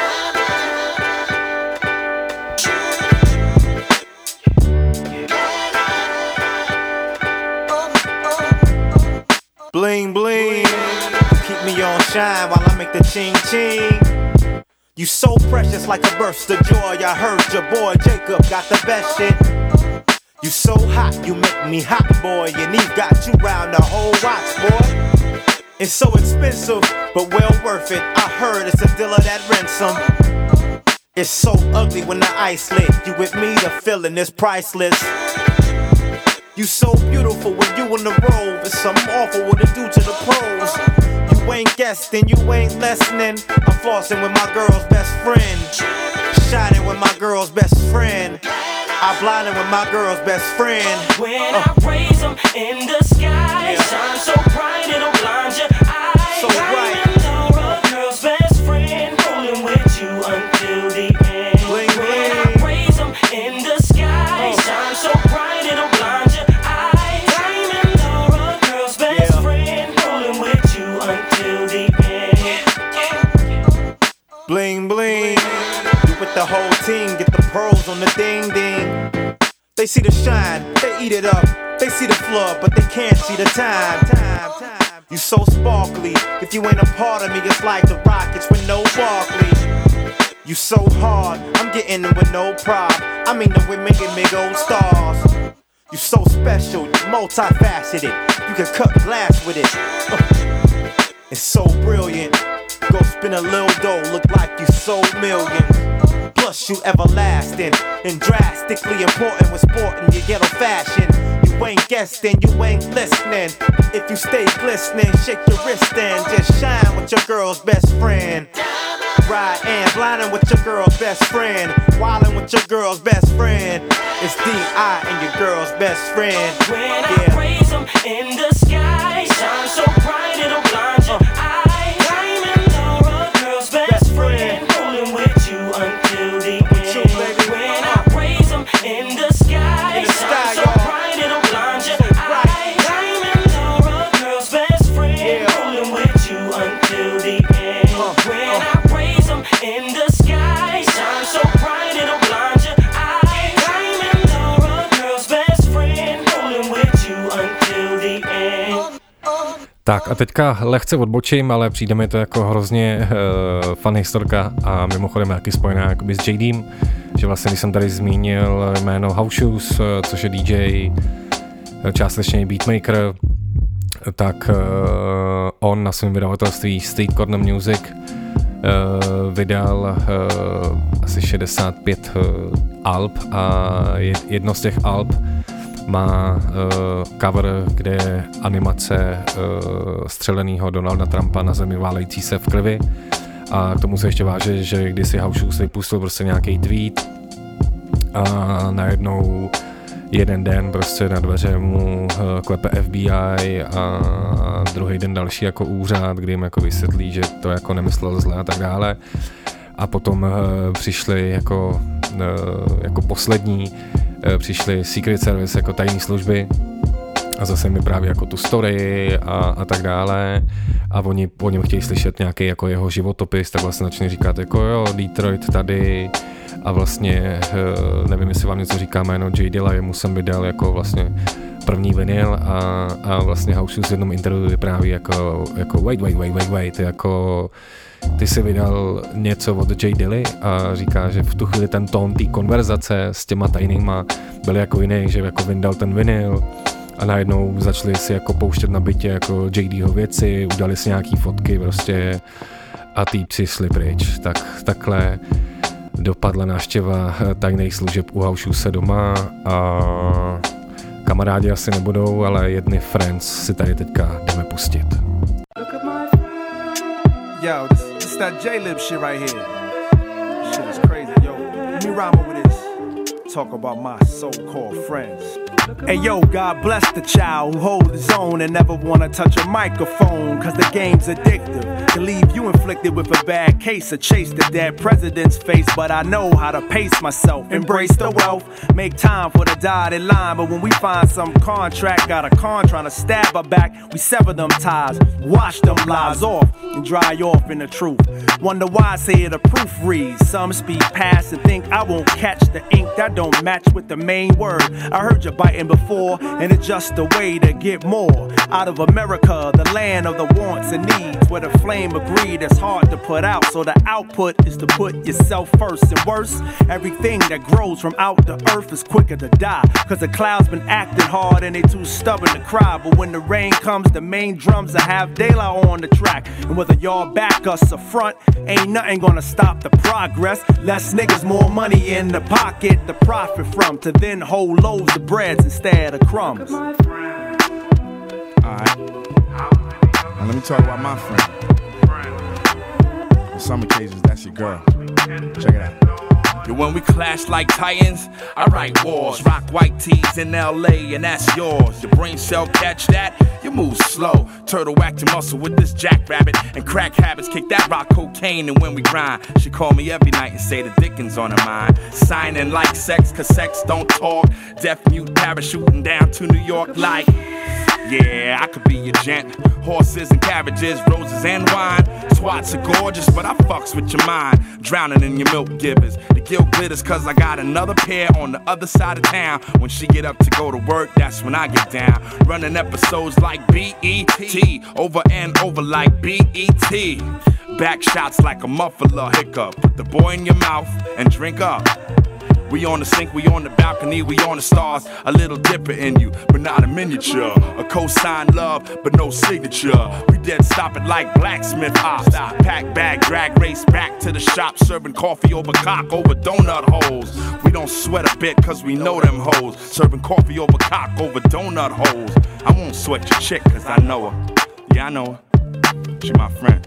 [SPEAKER 15] Bling bling, keep me on shine while I make the ching ching. You so precious like a burst of joy. I heard your boy Jacob got the best shit. You so hot, you make me hot, boy. And Eve got you round the whole watch, boy. It's so expensive, but well worth it. I heard it's a dealer that rents them. It's so ugly when the ice lit. You with me, the feeling is priceless. You so beautiful when you in the robe. It's something awful what it do to the pros. You ain't guessing, you ain't listening. I'm flossing with my girl's best friend. Shining with my girl's best friend. I blinded with my girl's best friend.
[SPEAKER 9] When I raise them in the sky, shine so bright it'll blind your eyes.
[SPEAKER 15] So bright.
[SPEAKER 9] Diamond Laura, girl's best friend, rolling with you until the end.
[SPEAKER 15] Bling,
[SPEAKER 9] when
[SPEAKER 15] bling.
[SPEAKER 9] I raise them in the sky, shine so bright it'll blind your eyes. Diamond Laura, girl's best friend, rolling with you until the end.
[SPEAKER 15] Bling bling. You with the whole team, get the pros on the ding ding. They see the shine, they eat it up. They see the flood, but they can't see the time. You so sparkly. If you ain't a part of me, it's like the Rockets with no Barkley. You so hard, I'm getting them with no prop. I mean the women give me gold stars. You so special, multifaceted. You can cut glass with it. It's so brilliant. Go spin a little dough, look like you sold millions. Plus you everlasting and drastically important with sporting your ghetto fashion. You ain't guessing, you ain't listening. If you stay glistening, shake your wrist and just shine with your girl's best friend. Ride and blinding with your girl's best friend. Wildin' with your girl's best friend. It's D.I. and your girl's best friend.
[SPEAKER 9] When I raise them in the sky, shine so bright it'll blind your eyes. Diamond Laura, girl's best friend, rolling with you until the end. When I raise them in the sky, shine so bright it'll blind your eyes. Diamond Laura, girl's best friend, rolling with you until the end. When I raise them in the sky, shine so bright it'll blind your eyes. Diamond Laura, girl's best friend, rolling with you until the end.
[SPEAKER 3] Tak a teďka lehce odbočím, ale přijde mi to jako hrozně fun historka a mimochodem taky spojená jakoby s JDem, že vlastně když jsem tady zmínil jméno House Shoes, což je DJ, částečně beatmaker, tak on na svém vydavatelství Street Corner Music vydal asi 65 alb a jedno z těch alb má cover, kde je animace střelenýho Donalda Trumpa na zemi válející se v krvi. A k tomu se ještě váže, že když si House Shoes vypustil prostě nějaký tweet a najednou jeden den prostě na dveře mu klepe FBI a druhý den další jako úřad, kdy jim jako vysvětlí, že to jako nemyslel zle a tak dále. A potom přišli jako poslední přišli Secret Service jako tajní služby a zase mi právě jako tu story a tak dále a oni po něm chtějí slyšet nějaký jako jeho životopis, tak vlastně začne říkat jako jo, Detroit tady a vlastně nevím, jestli vám něco říká jméno J Dilla, jemu jsem vydal jako vlastně první vinyl a vlastně House Shoes v jednom interview vypráví jako wait, jako ty jsi vydal něco od J Dilly a říká, že v tu chvíli ten tón té konverzace s těma tajnýma byl jako jiný, že jako vyndal ten vinyl a najednou začali si jako pouštět na bytě jako JDho věci, udali si nějaký fotky prostě a týpci šli pryč. Takhle dopadla návštěva tajných služeb u House Shoes doma a kamarádi asi nebudou, ale jedny friends si tady teďka jdeme pustit.
[SPEAKER 16] Yo, this that J-Lib shit right here. Shit is crazy, yo. Let me rhyme over this. Talk about my so-called friends. Hey yo, God bless the child who holds his own and never wanna touch a microphone, cause the game's addictive. To leave you inflicted with a bad case or chase the dead president's face, but I know how to pace myself, embrace the wealth, make time for the dotted line, but when we find some contract, got a con trying to stab her back, we sever them ties, wash them lies off, and dry off in the truth. Wonder why I say the proof reads, some speed past and think I won't catch the ink, that don't don't match with the main word. I heard you biting before, and it's just a way to get more out of America, the land of the wants and needs, where the flame of greed is hard to put out. So the output is to put yourself first. And worse, everything that grows from out the earth is quicker to die, cause the clouds been acting hard and they too stubborn to cry. But when the rain comes, the main drums are have daylight on the track. And whether y'all back us or front, ain't nothing gonna stop the progress. Less niggas, more money in the pocket to profit from, to then hold loaves of breads instead of crumbs.
[SPEAKER 18] Alright. Now let me talk about my friend. On some occasions, that's your girl. Check it out.
[SPEAKER 19] Yo, when we clash like titans, I write wars. Rock white tees in LA, and that's yours. Your brain cell catch that, you move slow. Turtle whack your muscle with this jackrabbit. And crack habits, kick that rock cocaine. And when we grind, she call me every night and say the Dickens on her mind. Signing like sex, cause sex don't talk. Deaf mute parachuting down to New York like, yeah, I could be your gent. Horses and carriages, roses and wine. Swats are gorgeous, but I fucks with your mind. Drowning in your milk givers. The guilt glitters cause I got another pair on the other side of town. When she get up to go to work, that's when I get down. Running episodes like B.E.T. Over and over like B.E.T. Back shots like a muffler hiccup. Put the boy in your mouth and drink up. We on the sink, we on the balcony, we on the stars. A little dipper in you, but not a miniature. A cosign love, but no signature. We dead stop it like blacksmith ops. Pack bag, drag race back to the shop. Serving coffee over cock, over donut holes. We don't sweat a bit cause we know them hoes. Serving coffee over cock, over donut holes. I won't sweat your chick cause I know her. Yeah, I know her. She my friend.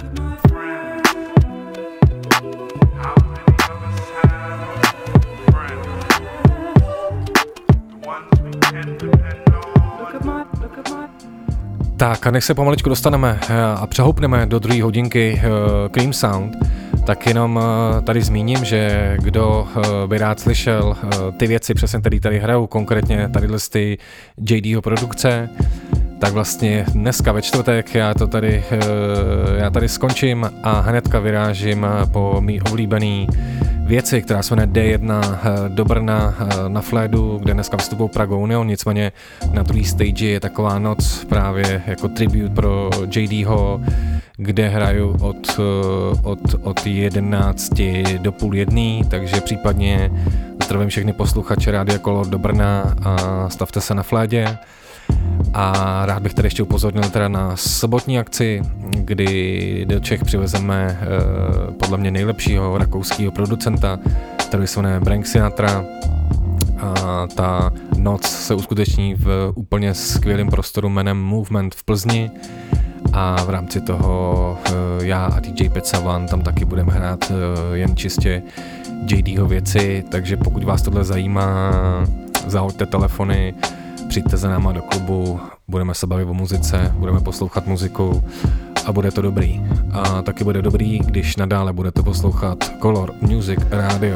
[SPEAKER 3] Tak a než se pomaličku dostaneme a přehoupneme do druhé hodinky Cream Sound, tak jenom tady zmíním, že kdo by rád slyšel ty věci, přesně tady hrajou, konkrétně tadyhle ty JDho produkce, tak vlastně dneska ve čtvrtek já tady skončím a hnedka vyrážím po mý oblíbený věci, která se jmenuje D1 do Brna na Flédu, kde dneska vystupují Prague Union, nicméně na druhý stage je taková noc právě jako tribute pro JDho, kde hraju od 11 do půl jedný, takže případně zdravím všechny posluchače Rádia Color do Brna a stavte se na Flédě. A rád bych tady ještě upozornil teda na sobotní akci, kdy do Čech přivezeme podle mě nejlepšího rakouského producenta, který se jmenuje Frank Sinatra. A ta noc se uskuteční v úplně skvělém prostoru jménem Movement v Plzni. A v rámci toho já a DJ Petsavan tam taky budeme hrát jen čistě JDho věci, takže pokud vás tohle zajímá, zahoďte telefony, přijďte za náma do klubu, budeme se bavit o muzice, budeme poslouchat muziku a bude to dobrý. A taky bude dobrý, když nadále budete poslouchat Color Music Radio.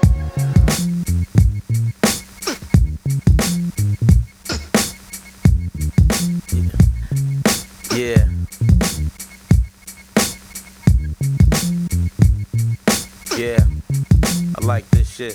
[SPEAKER 20] Yeah. Yeah. I like this shit.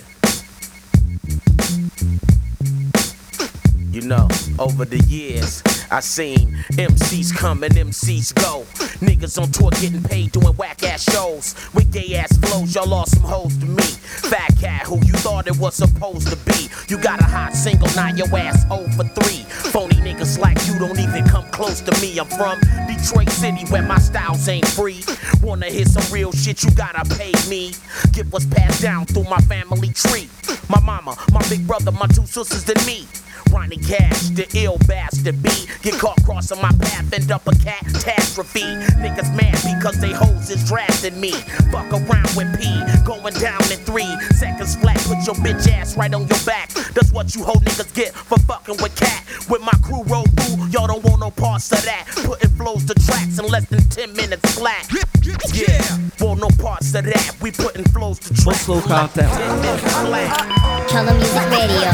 [SPEAKER 20] You know, over the years, I seen MCs come and MCs go. Niggas on tour getting paid doing whack-ass shows. With gay-ass flows, y'all lost some hoes to me. Fat cat, who you thought it was supposed to be. You got a hot single, now your ass 0 for 3. Phony niggas like you don't even come close to me. I'm from Detroit City where my styles ain't free. Wanna hear some real shit, you gotta pay me. Get what's passed down through my family tree. My mama, my big brother, my 2 sisters, then me. Ronnie Cash, the ill bastard B. Get caught crossing my path, end up a catastrophe. Niggas mad because they hoes is drafting me. Fuck around with P, going down in 3 seconds flat. Put your bitch ass right on your back. That's what you hoe niggas get for fucking with cat. With my crew roll through, y'all don't want no parts of that. Putting flows to tracks in less than 10 minutes flat. Yeah, want no parts of that. We putting flows to tracks.
[SPEAKER 1] Posloucháte
[SPEAKER 2] Color Music Radio.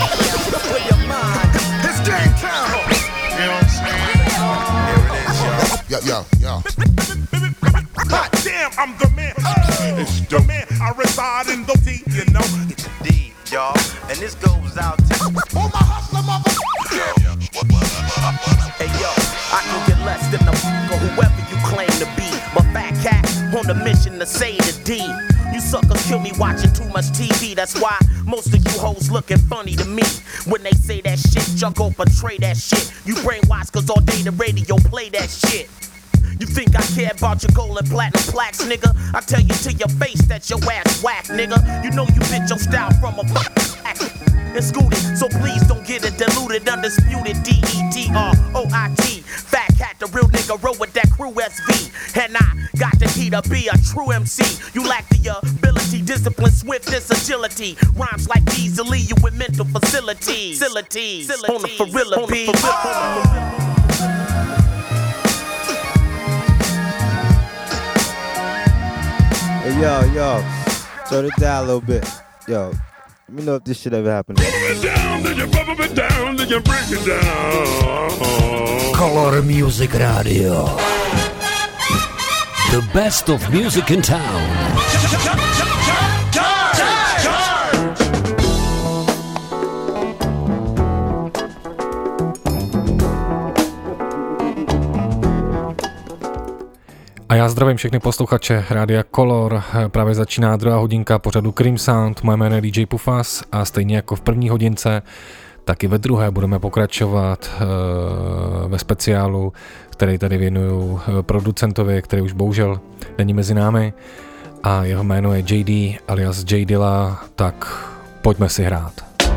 [SPEAKER 11] It's game time. You know what I'm saying? Here it is, yo. Yo. Hot damn, I'm the man. It's the man. I reside in the D, you know. It's a D.
[SPEAKER 20] y'all. And this goes out to all my hustler mother. Hey yo, I can get less than a or whoever you claim to be. But Fat Cat on the mission to say the D. You suckers kill me watching too much TV. That's why most of you hoes looking funny to me. When they say that shit, y'all go portray that shit. You brainwashed cause all day the radio play that shit. You think I care about your gold and platinum plaques, nigga? I tell you to your face that your ass whack, nigga. You know you bit your style from a and scooted, so please don't get it diluted. Undisputed D-E-D-R-O-I-T. Fat Cat, the real nigga, roll with that crew SV. And I got the key to be a true MC. You lack the ability, discipline, swiftness, agility. Rhymes like these will leave you with mental facilities. On the Ferrilla beat.
[SPEAKER 21] Hey, yo, turn it down a little bit. Yo, let me know if this shit ever happened.
[SPEAKER 14] Bubble it down, then you bubble it down, then you break it down.
[SPEAKER 22] Color Music Radio. The best of music in town.
[SPEAKER 3] A já zdravím všechny posluchače Rádia Color. Právě začíná druhá hodinka pořadu Cream Sound. Moje jméno je DJ Pufas a stejně jako v první hodince, tak i ve druhé budeme pokračovat ve speciálu, který tady věnuju producentovi, který už bohužel není mezi námi. A jeho jméno je JD alias J Dilla, tak pojďme si hrát.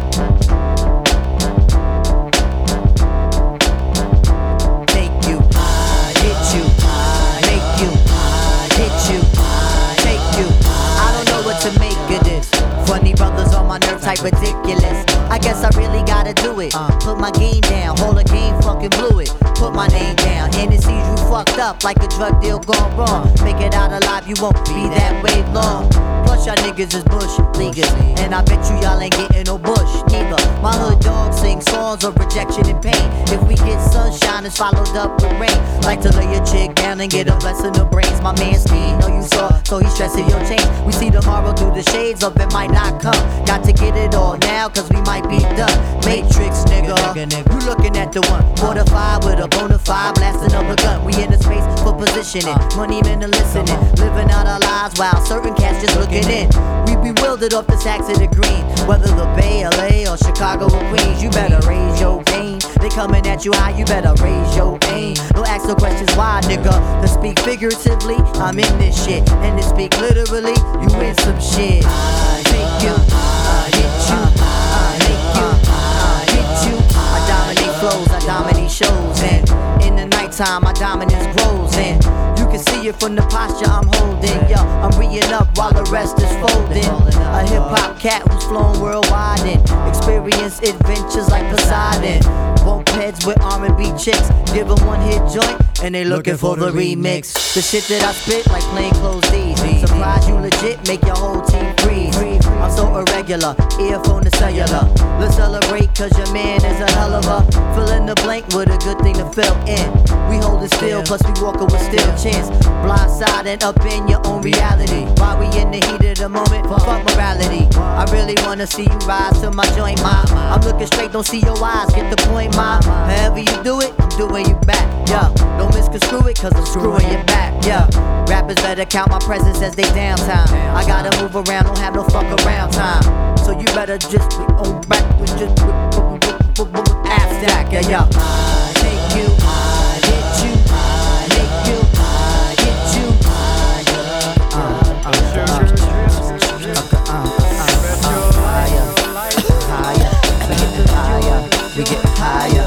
[SPEAKER 6] Funny brothers on my nerve type ridiculous. I guess I really gotta do it. Put my game down, hold a game, fucking blew it. Put my name down, and it sees you fucked up like a drug deal gone wrong. Make it out alive, you won't be that way long. Plus y'all niggas is bush leaguers, and I bet you y'all ain't getting no bush neither. My hood dogs sing songs of rejection and pain. If we get sunshine, it's followed up with rain. Like to lay your chick down and get a blessing of brains. My man Steve, know you saw, so he's stressing your chains. We see tomorrow through the shades of it might not come. Got to get it all now, cause we might be done. Matrix, nigga, you looking at the one. Fortified with a bona fide, blasting up a gun. We in the space for positioning, money men are listening. Living out our lives while certain cats just looking in. We bewildered off the sacks of the green. Whether the Bay, LA, or Chicago or Queens, you better raise your game. They coming at you high, you better raise your aim. Don't ask no questions why, nigga. To speak figuratively, I'm in this shit. And to speak literally, you in some shit. I take you, I hit you, I make you, I hit you. I dominate flows, I dominate shows. And in the nighttime, my dominance grows. And you can see it from the posture I'm holding. Yo, I'm reading up while the rest is folding. A hip-hop cat who's flown worldwide and experienced adventures like Poseidon. Bump heads with R&B chicks, give them one hit joint and they looking for the remix. The shit that I spit like plain clothes D's. Surprise you legit, make your whole team freeze. I'm so irregular, earphone to cellular. Let's celebrate cause your man is a hell of a. Fill in the blank with a good thing to fill in. We hold it still, plus we walking with still chance. Blindside and up in your own reality. While we in the heat of the moment, fuck morality. I really wanna see you rise to my joint, ma. I'm looking straight, don't see your eyes, get the point, ma. However you do it, I'm doing you back, yeah. Don't misconstrue it, cause I'm screwing you back, yeah. Rappers better count my presence as they downtime. I gotta move around, don't have no fuck around time. So you better just be on back with just abstract, yeah, yeah. I take you, I hit you, I make you, I hit you, we get higher.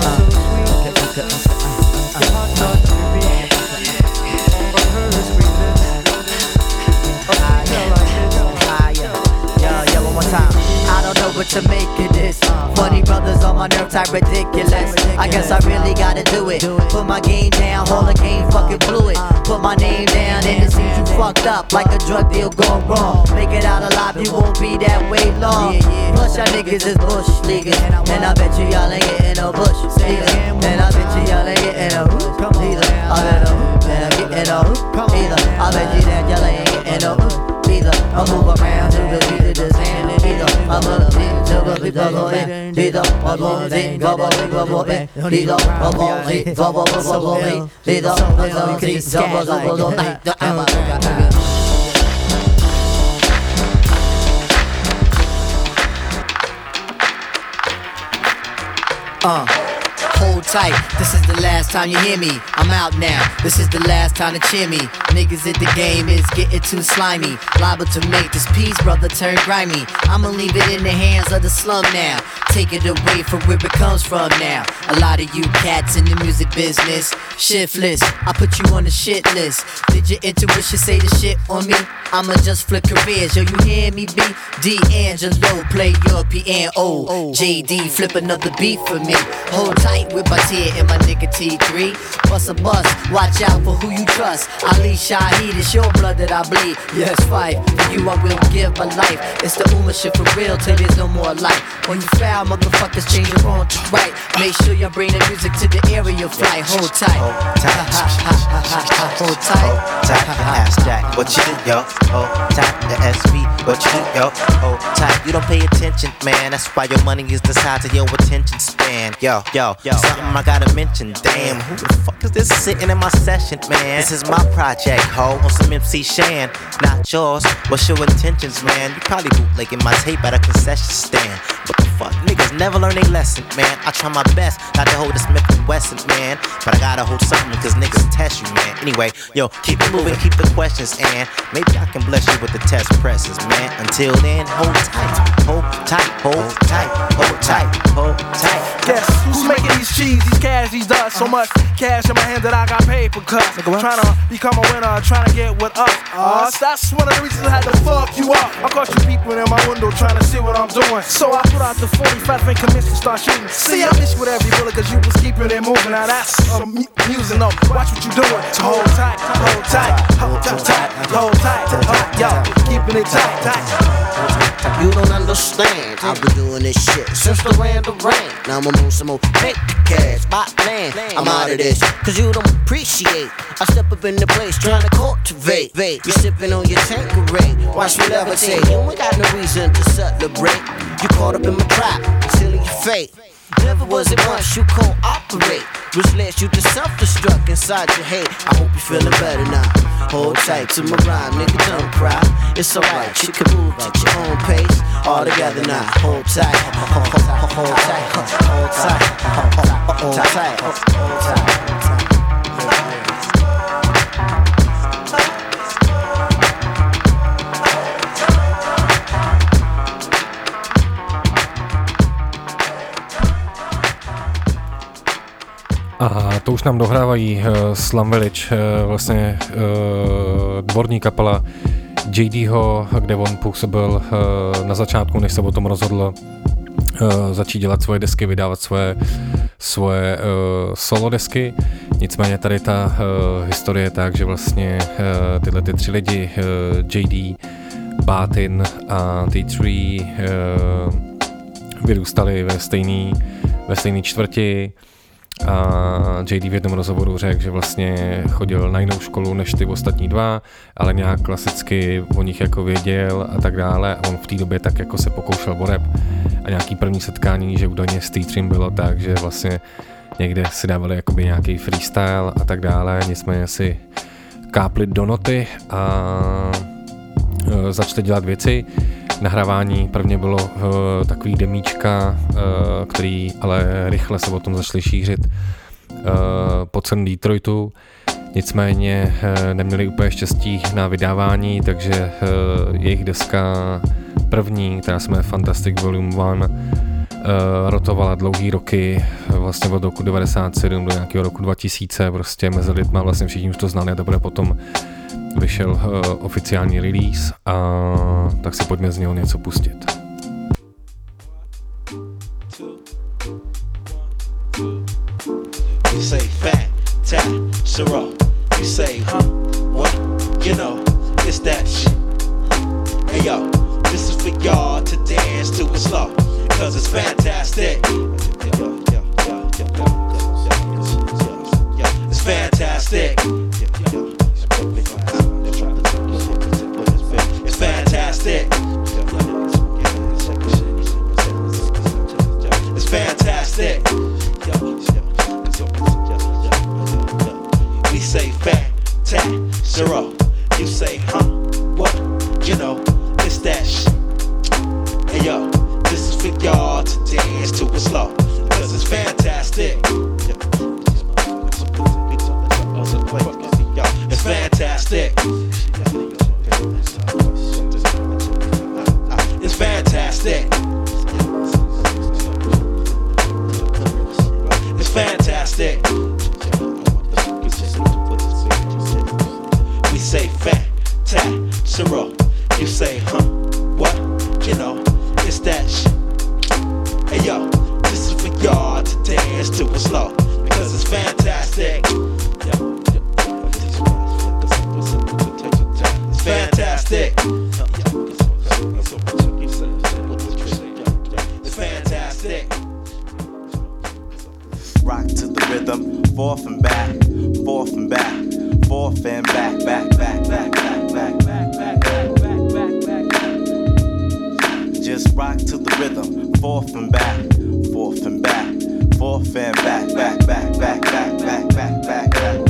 [SPEAKER 6] Yo, one more time. I don't know what to make of this. Funny brothers on my nerve type ridiculous. I guess I really gotta do it. Put my game down, hold a game, fucking blew it. Put my name down and it seems you fucked up like a drug deal gone wrong. Make it out alive, you won't be that way long. Plus y'all niggas is bush leaguers, and I bet you y'all ain't getting no bush either. And I bet you y'all ain't getting no hoop either. I bet I'm getting no hoop either. I bet you that y'all ain't getting no hoop either. I move around through the beat of the sand either. I'm a Hold tight, this is the last time you hear me. I'm out now, this is the last time to cheer me. Niggas at the game is getting too slimy. Liable to make this piece, brother, turn grimy. I'ma leave it in the hands of the slum now. Take it away from where it comes from now. A lot of you cats in the music business, shiftless, I put you on the shit list. Did your intuition say the shit on me? I'ma just flip careers, yo, you hear me, B? D'Angelo, play your piano. JD, flip another beat for me. Hold tight with my tear and my nigga T3. Bust a bus, watch out for who you trust. Ali Shaheed, it's your blood that I bleed. Yes, fight, for you I will give my life. It's the Uma shit for real till there's no more life. When you foul, motherfuckers change it wrong to right. Make sure you bring the music to the area flight. Hold tight. Hold tight. Hold tight.
[SPEAKER 5] Tight, your ass jack. What you do, yo? Hold tight, the SB. What you do, yo? Hold tight. You don't pay attention, man. That's why your money is the size of your attention span. Yo, something I gotta mention. Damn, who the fuck is this sitting in my session, man? This is my project, ho, on some MC Shan. Not yours. What's your intentions, man? You probably bootlegging my tape at a concession stand. What the fuck? Niggas never learn a lesson, man. I try my best not to hold a Smith & Wesson, man. But I gotta hold something cause niggas test you, man. Anyway, yo, keep it moving, keep the questions, and maybe I can bless you with the test presses, man. Until then, hold tight, hold tight, hold tight, hold tight, hold tight.
[SPEAKER 19] Guess who's making these cheese, these cash, these dots? So much cash in my hand that I got paper cuts. Trying to become a winner, trying to get with us. That's one of the reasons I had to fuck you up. I caught you peeping in my window trying to see what I'm doing. So I put out the 45 and commenced to start shooting. See, I missed with every bullet cause you was keeping it moving. Now that's music, no. Watch what you doing. So hold tight, hold tight, hold tight, hold tight, yo, keeping it tight, tight.
[SPEAKER 7] You don't understand, I've been doing this shit since the rain to rain. Now I'ma move some more, make the cash, buy land. I'm out of this, cause you don't appreciate. I step up in the place trying to cultivate. You sipping on your Tanqueray, watch me levitate. You ain't got no reason to celebrate. You caught up in my trap, sealing your fate. Never was it once you cooperate, which led you to self-destruct inside your head. I hope you're feeling better now. Hold tight to my rhyme, nigga, don't cry. It's alright, you can move at your own pace. All together now, hold tight, hold tight, hold tight, hold tight, hold tight, hold tight.
[SPEAKER 3] A to už nám dohrávají Slum Village, vlastně dvorní kapela JDho, kde on působil na začátku, než se o tom rozhodl začít dělat svoje desky, vydávat svoje solo desky. Nicméně tady ta historie je tak, že vlastně tyhle ty tři lidi, JD, Batin a T3, vyrůstali ve stejné čtvrti. A JD v jednom rozhovoru řekl, že vlastně chodil na jinou školu než ty ostatní dva, ale nějak klasicky o nich jako věděl a tak dále a on v té době tak jako se pokoušel o rap a nějaký první setkání, že údajně s T3 bylo tak, že vlastně někde si dávali jakoby nějaký freestyle a tak dále, nicméně si kápli do noty a začali dělat věci. Nahrávání prvně bylo takový demíčka, který ale rychle se o tom začali šířit po celém Detroitu. Nicméně neměli úplně štěstí na vydávání, takže jejich deska první, která se jmenuje Fantastic Volume 1, rotovala dlouhý roky, vlastně od roku 97 do nějakého roku 2000, prostě mezi lidma vlastně všichni už to znali a teprve potom vyšel oficiální release a tak si pojďme z něho něco pustit.
[SPEAKER 23] You say fat, tat, Sarah. You say, huh? What? You know, it's that shit. Hey yo, this is for y'all to dance to it slow, cause it's fantastic. It's fantastic. It's fantastic. fantastic. It's fantastic. We say fat-tat-sero. You say, huh? What? You know, it's that shit. Hey yo, this is for y'all to dance to it slow, because it's fantastic. It's fantastic. It's fantastic.
[SPEAKER 5] Rock to the rhythm, forth and back, forth and back, forth and back, back, back, back, back, back, back, back, back, back, back, back. Just rock to the rhythm, forth and back, forth and back, forth and back, back, back, back, back, back, back, back, back.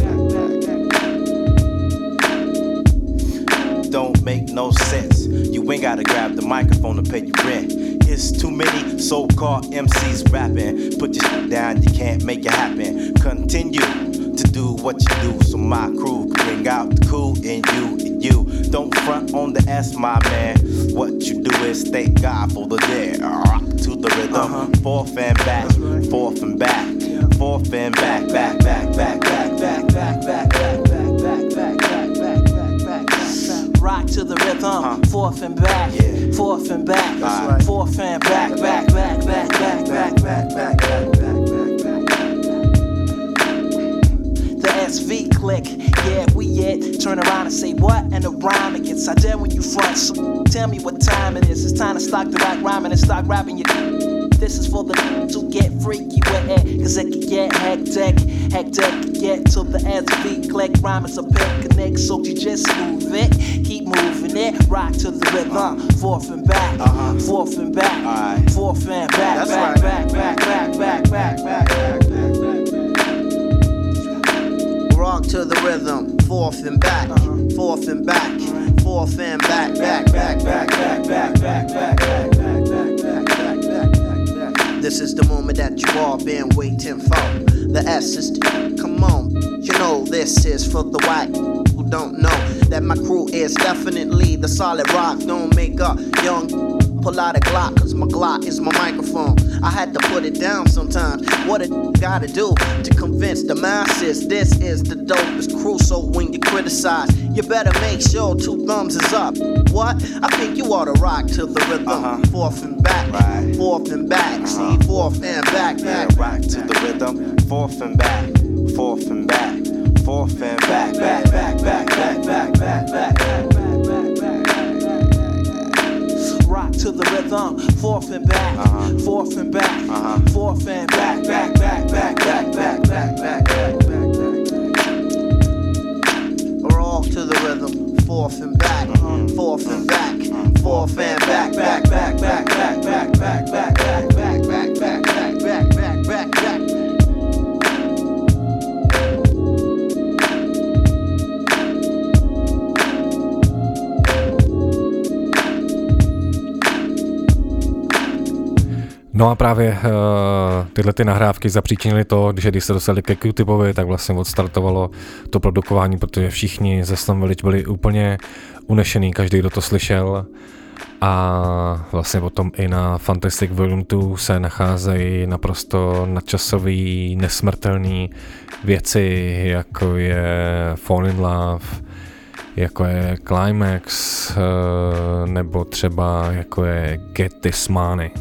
[SPEAKER 5] Don't make no sense. You ain't gotta grab the microphone to pay your rent. It's too many so-called MCs rapping. Put your shit down, you can't make it happen. Continue to do what you do, so my crew can bring out the cool in you. Don't front on the S, my man. What you do is thank God for the day. Rock to the rhythm, forth and back, forth and back, forth and back, back, back, back, back, back, back, back, back, back, back, back, back, back, back, back.
[SPEAKER 6] Rock to the rhythm, forth and back, forth and back, forth and back, back, back, back, back, back, back, back, back, back, back. The SV click, yeah, we it. Turn around and say what? And the rhyme it gets. I dare when you front, so tell me what time it is. It's time to stop the rock rhyming and start rapping your. This is for the to get freaky with it, cause it can get hectic, get to the SV click. Rhyme is a picnic, so you just move it, keep moving it. Rock to the rhythm, forth and back, forth and back, forth and back, back, back, back, back, back, back, back, back.
[SPEAKER 7] Rock to the rhythm, forth and back, forth and back, forth and back, back, back, back, back, back, back, back, back, back, back, back, back, back. This is the moment that you all been waiting for. The S is the, come on. You know this is for the white who don't know that my crew is definitely the solid rock. Don't make a young pull out a Glock, cause my Glock is my microphone. I had to put it down sometimes. What a gotta do to convince the masses this is the dopest crew. So when you criticize, you better make sure 2 thumbs is up. What? I think you ought to rock to the rhythm. Forth and back, forth and back. See, forth and back, back.
[SPEAKER 5] Rock to the rhythm, forth and back, forth and back, forth and back, back, back, back, back, back, back, back, back, back.
[SPEAKER 6] Rock to the rhythm, forth and back, forth and back, forth and back, back, back, back, back, back, back, back, back, back.
[SPEAKER 7] Rock to the rhythm, forth and back, forth and back, forth and back, back, back, back, back, back, back, back, back, back, back, back, back, back, back, back, back.
[SPEAKER 3] No a právě tyhle ty nahrávky zapříčinily to, že když se dostali ke Q-Tipovi, tak vlastně odstartovalo to produkování, protože všichni ze Slum Village byli úplně unešený, každý, kdo to slyšel. A vlastně potom i na Fantastic Volume 2 se nacházejí naprosto nadčasový, nesmrtelný věci, jako je Fall in Love, jako je Climax, nebo třeba jako je Get This Money.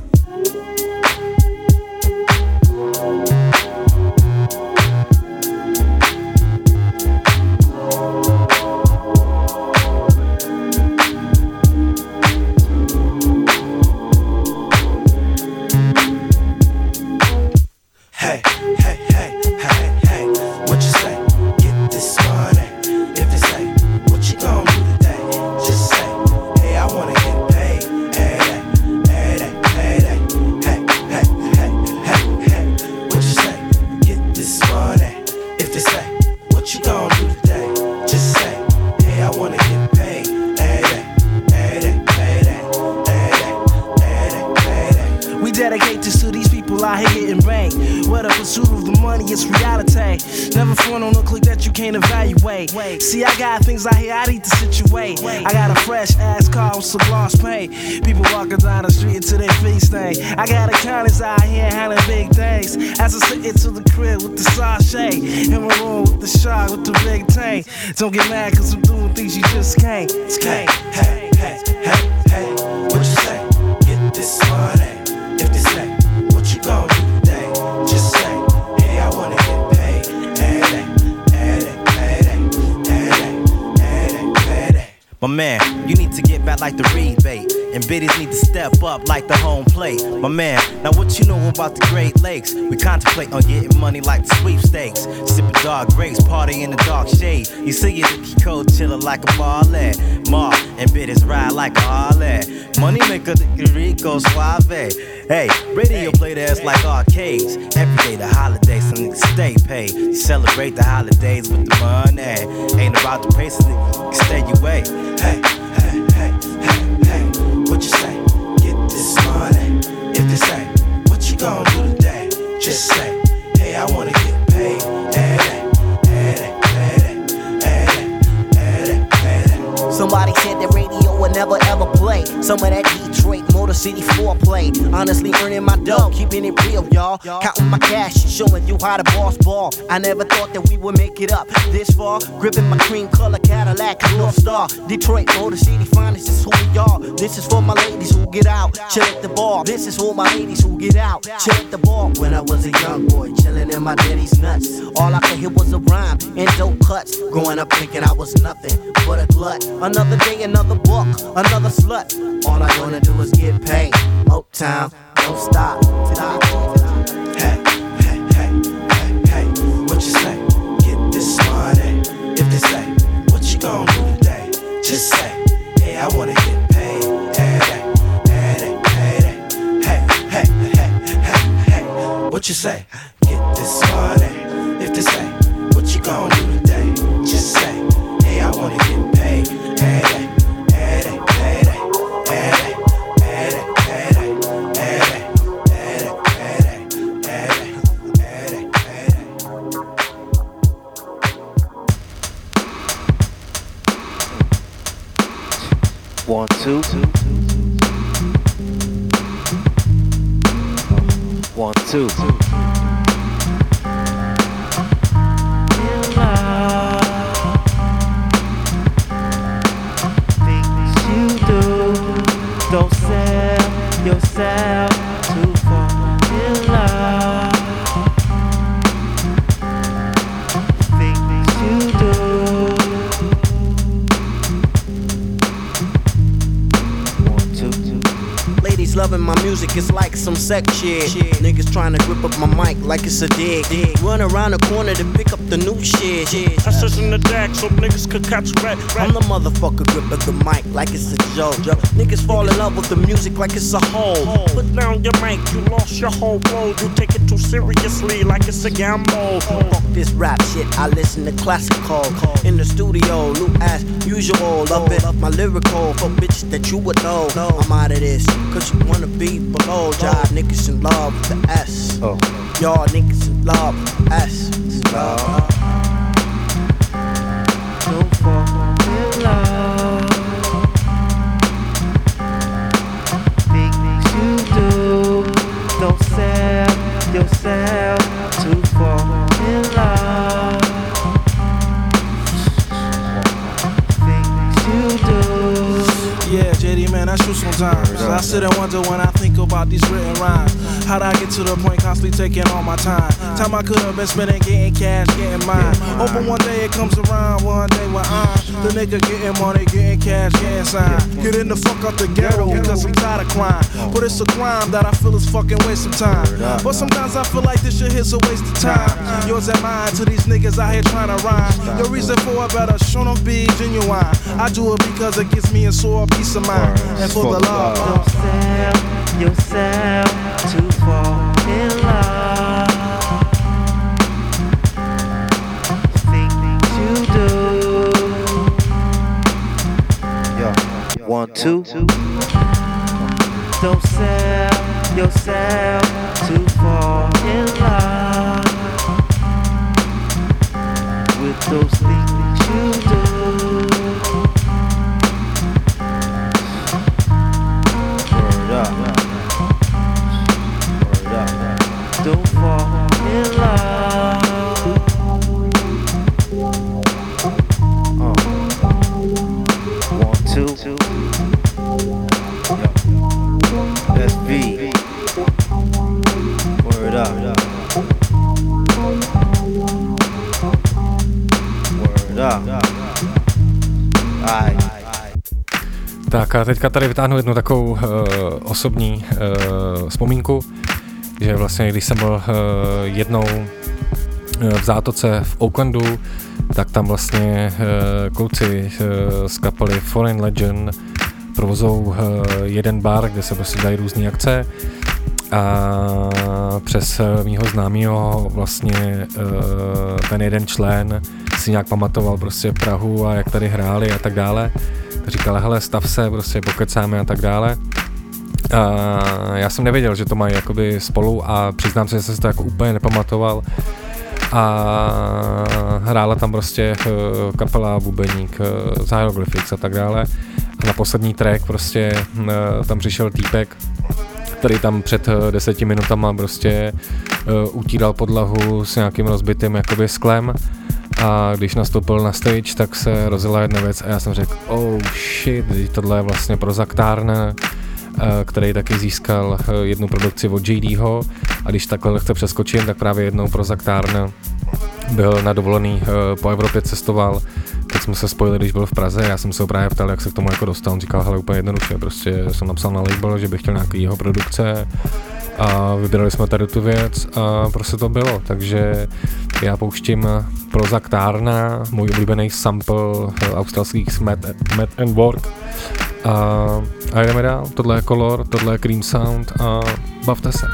[SPEAKER 4] people out here getting banked. Where the pursuit of the money is reality. Never phone on a click that you can't evaluate. See, I got things out here I need to situate. I got a fresh ass car with some gloss paint. People walking down the street until their feet stink. I got accountants out here handling big things. As I sit into the crib with the sachet. In my room with the shark with the big tank. Don't get mad cause I'm doing things you just can't.
[SPEAKER 23] Hey, hey, hey, hey, hey, what you say? Get this money. If they say, what you gon' do today? Just say, hey, I wanna get paid.
[SPEAKER 5] My man, you need to get back like the rebate. And biddies need to step up like the home plate. My man, now what you know about the Great Lakes? We contemplate on getting money like the sweepstakes. Sipping dark grapes, party in the dark shade. You see it, the cold chillin' like a ballet. Mar and biddies ride like a Harley. Money maker, the Rico Suave. Hey, radio play the ass like arcades. Every day the holidays, some niggas stay paid. Celebrate the holidays with the money. Ain't about the pace, niggas stay away.
[SPEAKER 23] Hey, hey, hey, hey, hey, what you say? Get this money. If they say, what you gon' do today? Just say, hey, I wanna get paid.
[SPEAKER 7] Somebody said the radio would never ever play some of that Detroit Motor City foreplay. Honestly earning my dough, keeping it real, y'all. Counting my cash and showing you how the boss ball. I never thought that we would make it up this far. Gripping my cream color Cadillac North Star. Detroit Motor City finest, this is who we are. This is for my ladies who get out, chill at the bar. This is for my ladies who get out, chill at the bar. When I was a young boy, chilling in my daddy's nuts. All I could hear was a rhyme and dope cuts. Growing up thinking I was nothing but a glut. Another day, another book, another slut. All I wanna do is get paid. Motown, don't stop.
[SPEAKER 23] Hey, hey, hey, hey, hey, what you say? Get this money. If they say, what you gon' do today? Just say, hey, I wanna get paid. Hey, hey, hey, hey, hey, what you say? Get this money. If they say, what you gon' do today? Just say, hey, I wanna get paid. Hey, hey, hey, hey, hey, hey, One, two. 1, 2.
[SPEAKER 10] Things you do, don't sell yourself too far in love. Things you do.
[SPEAKER 7] Ladies loving my music, it's like some sex shit. Niggas trying to grip up my mic like it's a dig. Run around the corner to pick up the new shit.
[SPEAKER 8] I sit in the deck so niggas could catch red.
[SPEAKER 7] I'm the motherfucker gripping the mic like it's a joke. Niggas fall in love with the music like it's a hole.
[SPEAKER 8] Put down your mic, you lost your whole role. You take it too seriously like it's a gamble.
[SPEAKER 7] Fuck this rap shit, I listen to classical. In the studio, loop as usual. Love it, my lyrical for bitches that you would know. I'm out of this, cause you wanna be below. Y'all niggas in love with the S. Y'all niggas in love with the S.
[SPEAKER 10] Don't fall in love. Things you do, don't sell yourself too far in love. Things you do.
[SPEAKER 4] Yeah, JD, man, that's true sometimes. I sit and wonder when I think about these written rhymes. How'd I get to the point constantly taking all my time? Time I could have been spending getting cash, getting mine. Hoping one day it comes around, one day when I'm the nigga getting money, getting cash, getting signed. Getting the fuck out the ghetto because I'm tired of crime. But it's a crime that I feel is fucking waste of time. But sometimes I feel like this shit is a waste of time. Yours and mine to these niggas out here trying to rhyme. The reason for it better show don't be genuine. I do it because it gives me a sore peace of mind. And for the love,
[SPEAKER 10] don't sell yourself too far in love. Things you do.
[SPEAKER 23] 1, 2.
[SPEAKER 10] Don't sell
[SPEAKER 23] yourself to fall in love with those things you do. Word up. Word up. Don't fall in love. 1, 2. That's V. Word up. Word up. Alright.
[SPEAKER 3] Tak a teďka tady vytáhnu jednu takovou osobní vzpomínku, že vlastně když jsem byl jednou v zátoce v Oaklandu, tak tam vlastně kluci z kapely Foreign Legion provozou jeden bar, kde se prostě dají různé akce a přes mýho známýho vlastně ten jeden člen si nějak pamatoval prostě Prahu a jak tady hráli a tak dále. Říkal, hele, stav se, prostě pokecáme a tak dále. A já jsem nevěděl, že to mají jakoby spolu a přiznám se, že jsem si to jako úplně nepamatoval. A hrála tam prostě kapela, bubeník, Hieroglyphics a tak dále. A na poslední track prostě tam přišel týpek, který tam před 10 minutama prostě utíral podlahu s nějakým rozbitým jakoby sklem. A když nastoupil na stage, tak se rozjela jedna věc a já jsem řekl, oh shit, tohle je vlastně Prozac Turner, který taky získal jednu produkci od JDho a když takhle lehce přeskočím, tak právě jednou Prozac Turner byl na dovolený po Evropě cestoval, tak jsme se spojili, když byl v Praze, já jsem se ho právě ptal, jak se k tomu jako dostal, on říkal, hele, úplně jednoduše, prostě jsem napsal na label, že bych chtěl nějaký jeho produkce a vybrali jsme tady tu věc a prostě to bylo, takže já pouštím Prozac Turner, můj oblíbený sample australských Matt and Work a jdeme dál, tohle je Color, tohle je Cream Sound a bavte se.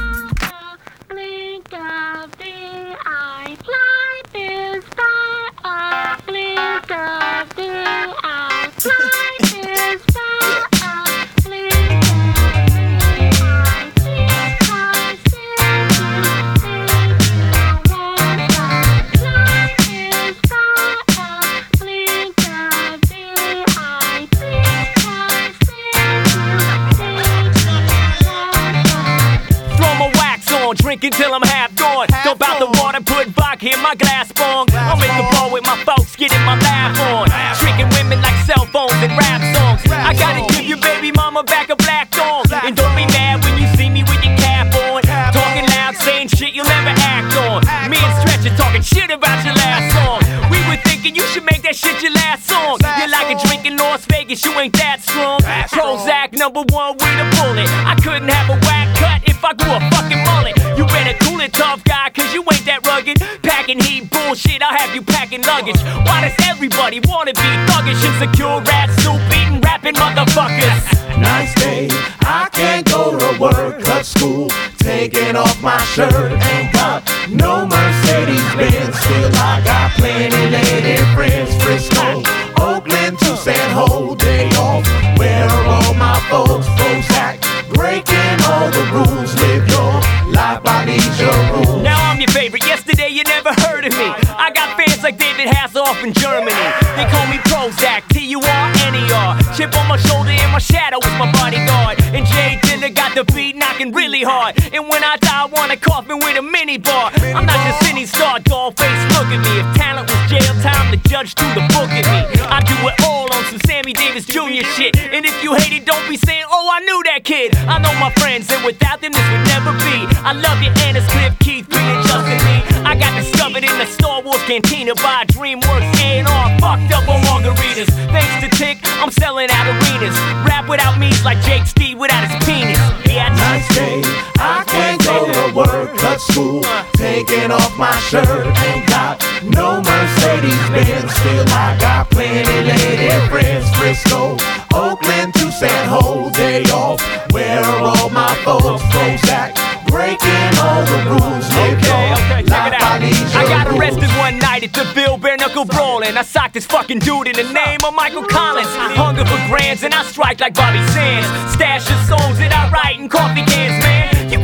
[SPEAKER 1] Drinking till I'm half gone. Dump out the water, put vodka in my glass bong. I'll make a ball with my folks, getting my laugh on. Tricking women like cell phones and rap songs. I gotta give your baby mama back a black thong. And don't be mad when you see me with your cap on. Talking loud, saying shit you'll never act on. Me and Stretch are talking shit about your last song. We were thinking you should make that shit your last song. You're like a drink in Las Vegas, you ain't that strong. Prozac #1 with a bullet. I couldn't have a whack cut if I grew a fucking mullet. You better cool it, tough guy, cause you ain't that rugged. Packing heat bullshit, I'll have you packing luggage. Why does everybody wanna be thuggish? Insecure rats, soup eating, rapping motherfuckers.
[SPEAKER 23] Nice day, I can't go to work, cut school, taking off my shirt. Ain't got no Mercedes-Benz, still I got plenty lady friends. Frisco, Oakland to San Jose, day off. Where are all my folks? Prozac, breaking all the rules. Live your life by these your rules.
[SPEAKER 1] Now I'm your favorite, yesterday you never heard of me. I got fans like David Hasselhoff in Germany. They call me Prozac, T-U-R-N-E-R. Chip on my shoulder and my shadow is my bodyguard. And Jay Dilla got the beat knocking really hard. And when I die I want a coffin with a mini bar. I'm not just any star, doll face, look at me. If talent was jail time, the judge threw the book at me. I do it all on some Sammy Davis Jr. shit. And if you hate it, don't be saying, oh I knew that kid. I know my friends and without them this would never be. I love you Annis, Cliff, Keith, Green and Justin Lee. I got discovered in the Star Wars cantina by DreamWorks A&R, fucked up on margaritas. Thanks to Tick, I'm selling out arenas. Rap without me is like Jake Steve without his penis. Yeah,
[SPEAKER 23] nice day, I can't go to work, cut school, taking off my shirt. Ain't got no Mercedes-Benz, still I got plenty lady friends. Frisco, Oakland to San Jose, day off. Where are all my folks? Prozac, breaking all the rules.
[SPEAKER 1] Okay, check it out. I got arrested one night at the Bill Bare Knuckle Brawling. I socked this fucking dude in the name of Michael Collins. Hunger for grands and I strike like Bobby Sands. Stash of songs that I write in coffee cans, man.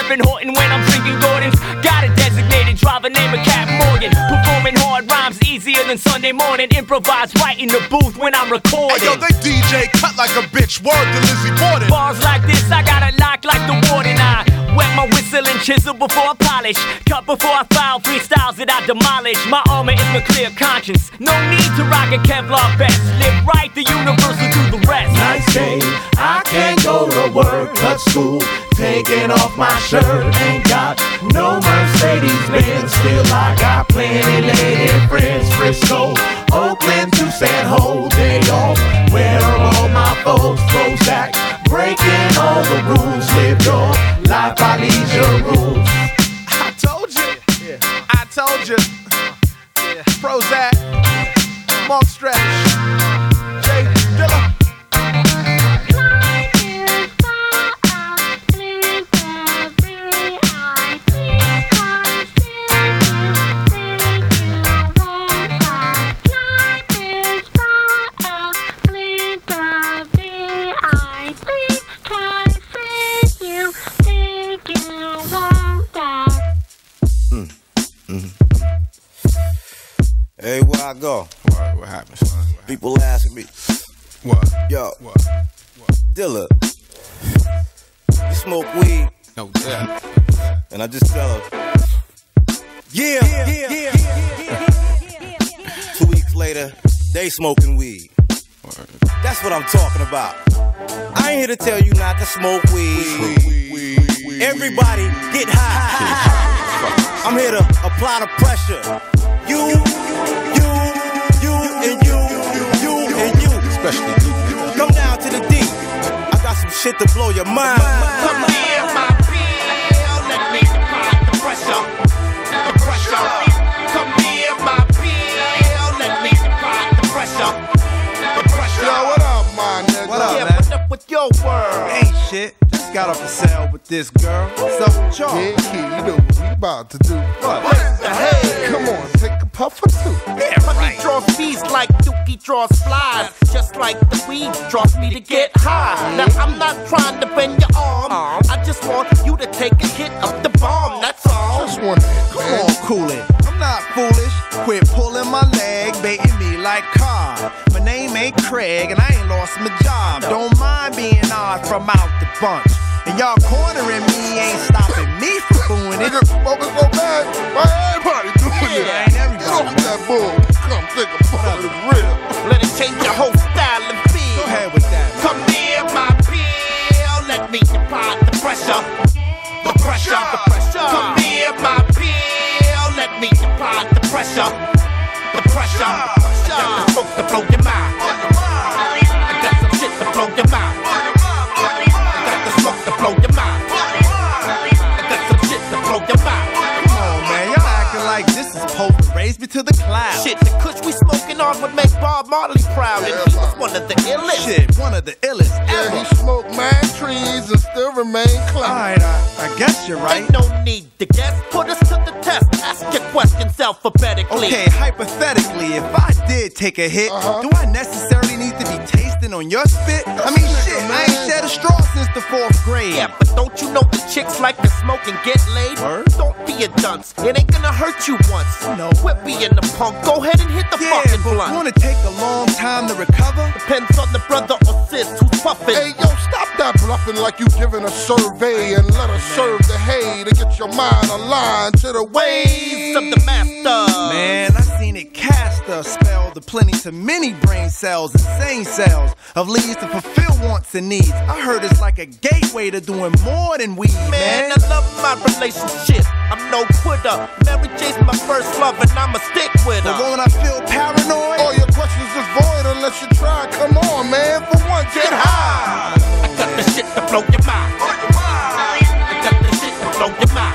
[SPEAKER 1] Sipping Horton when I'm drinking Gordon's. Got a designated driver named Cat Morgan. Performing hard rhymes easier than Sunday morning. Improvise right in the booth when I'm recording.
[SPEAKER 11] Hey, yo, they DJ cut like a bitch. Word to Lizzie Borden.
[SPEAKER 1] Bars like this, I got it locked like the warden. I wet my whistle and chisel before I polish. Cut before I file, freestyles that I demolish. My armor is my clear conscience. No need to rock a Kevlar vest. Live right, the universal do the rest.
[SPEAKER 10] Nice day, I can't go to work, cut school, taking off my shirt. Ain't got no Mercedes-Benz, still I got plenty lady friends. Frisco, Oakland to San Jose off, where are all my folks? Prozac, breaking all the rules. Live your life by leisure rules.
[SPEAKER 16] I told you. Yeah. I told you. Yeah. Prozac, Mark Stretch, Jay Dilla.
[SPEAKER 21] Hey, where I go?
[SPEAKER 18] What happens?
[SPEAKER 21] People asking me.
[SPEAKER 18] What?
[SPEAKER 21] Yo. Dilla. You smoke weed?
[SPEAKER 18] No, yeah.
[SPEAKER 21] And I just tell her. Yeah. 2 weeks later, they smoking weed. That's what I'm talking about. I ain't here to tell you not to smoke weed. Everybody get high. I'm here to apply the pressure. You, and you.
[SPEAKER 18] Especially you.
[SPEAKER 21] Come down to the D. I got some shit to blow your mind.
[SPEAKER 10] Come here, my pill. Let me apply the pressure. The pressure. Come here, my pill. Let me apply the pressure. The pressure.
[SPEAKER 18] Yo, what up, my nigga?
[SPEAKER 16] What up,
[SPEAKER 10] yeah,
[SPEAKER 16] man?
[SPEAKER 10] what up with your world?
[SPEAKER 16] Ain't shit. Just got off the cell with this girl. What's up with y'all?
[SPEAKER 18] Yeah, kid, you know what we about to do.
[SPEAKER 10] What the hell?
[SPEAKER 18] Come on, take a puff or two.
[SPEAKER 10] Yeah, money draws fees like Dookie draws flies. Just like the weed draws me to get high. Now I'm not trying to bend your arm. I just want you to take a hit of the bomb. That's all.
[SPEAKER 18] Just one hit,
[SPEAKER 16] Come
[SPEAKER 18] man.
[SPEAKER 16] on, cool it. I'm not foolish. Quit pulling my leg, baiting me like Cobb. My name ain't Craig, and I ain't lost my job. Don't mind being odd from out the bunch. And y'all cornering me ain't stopping me from doing it.
[SPEAKER 18] Nigga, smoking so bad, why everybody doing it?
[SPEAKER 16] Ain't everybody.
[SPEAKER 18] Get off that bull. Come take a puff of this real.
[SPEAKER 10] Let it change your whole style and feel.
[SPEAKER 16] Go ahead with that.
[SPEAKER 10] Come near my pill. Let me apply the pressure. The pressure. The pressure. Come near my pill. Let me apply the pressure. The pressure. I got the smoke to blow your mind. I got some shit to blow your mind. I got the smoke to blow your mind. I got some shit to blow your mind.
[SPEAKER 16] Come on, man. Y'all acting like this is supposed to raise me to the clouds.
[SPEAKER 10] Shit, the kush we smoking on would make Bob Marley proud. And he was one of the illest.
[SPEAKER 16] Shit, one of the illest
[SPEAKER 18] Yeah,
[SPEAKER 16] ever.
[SPEAKER 18] he smoked mad trees and still remain clean.
[SPEAKER 16] Alright, I guess you're right.
[SPEAKER 10] Ain't no need to guess. Put us to the test. Ask your questions alphabetically.
[SPEAKER 16] Okay, hypothetically, if I did take a hit, do I necessarily need to be tasting on your spit? I mean, shit, I ain't shed a straw since the 4th grade.
[SPEAKER 10] Yeah, but don't you know the chicks like to smoke and get laid? Don't be a dunce. It ain't gonna hurt you once.
[SPEAKER 16] No.
[SPEAKER 10] Quit being the punk. Go ahead and hit the
[SPEAKER 16] Yeah,
[SPEAKER 10] fucking
[SPEAKER 16] but
[SPEAKER 10] blunt.
[SPEAKER 16] wanna take a long time to recover?
[SPEAKER 10] Depends on the brother or sis who's puffing.
[SPEAKER 18] Hey, yo, stop that bluffing like you giving a survey and let us serve the hay to get your mind aligned to the ways
[SPEAKER 10] of the master.
[SPEAKER 16] Man, I seen it cast a spell to plenty to many brain cells, insane cells of leads to fulfill wants and needs. I heard it's like a gateway to doing more than weed, man.
[SPEAKER 10] I love my relationship. I'm no quitter. Mary J's my first love and I'ma stick with her.
[SPEAKER 16] But won't I feel paranoid?
[SPEAKER 18] All your questions is void unless you try. Come on, man. For one, get high.
[SPEAKER 10] I got the shit to blow your mind. I got the shit to blow your mind.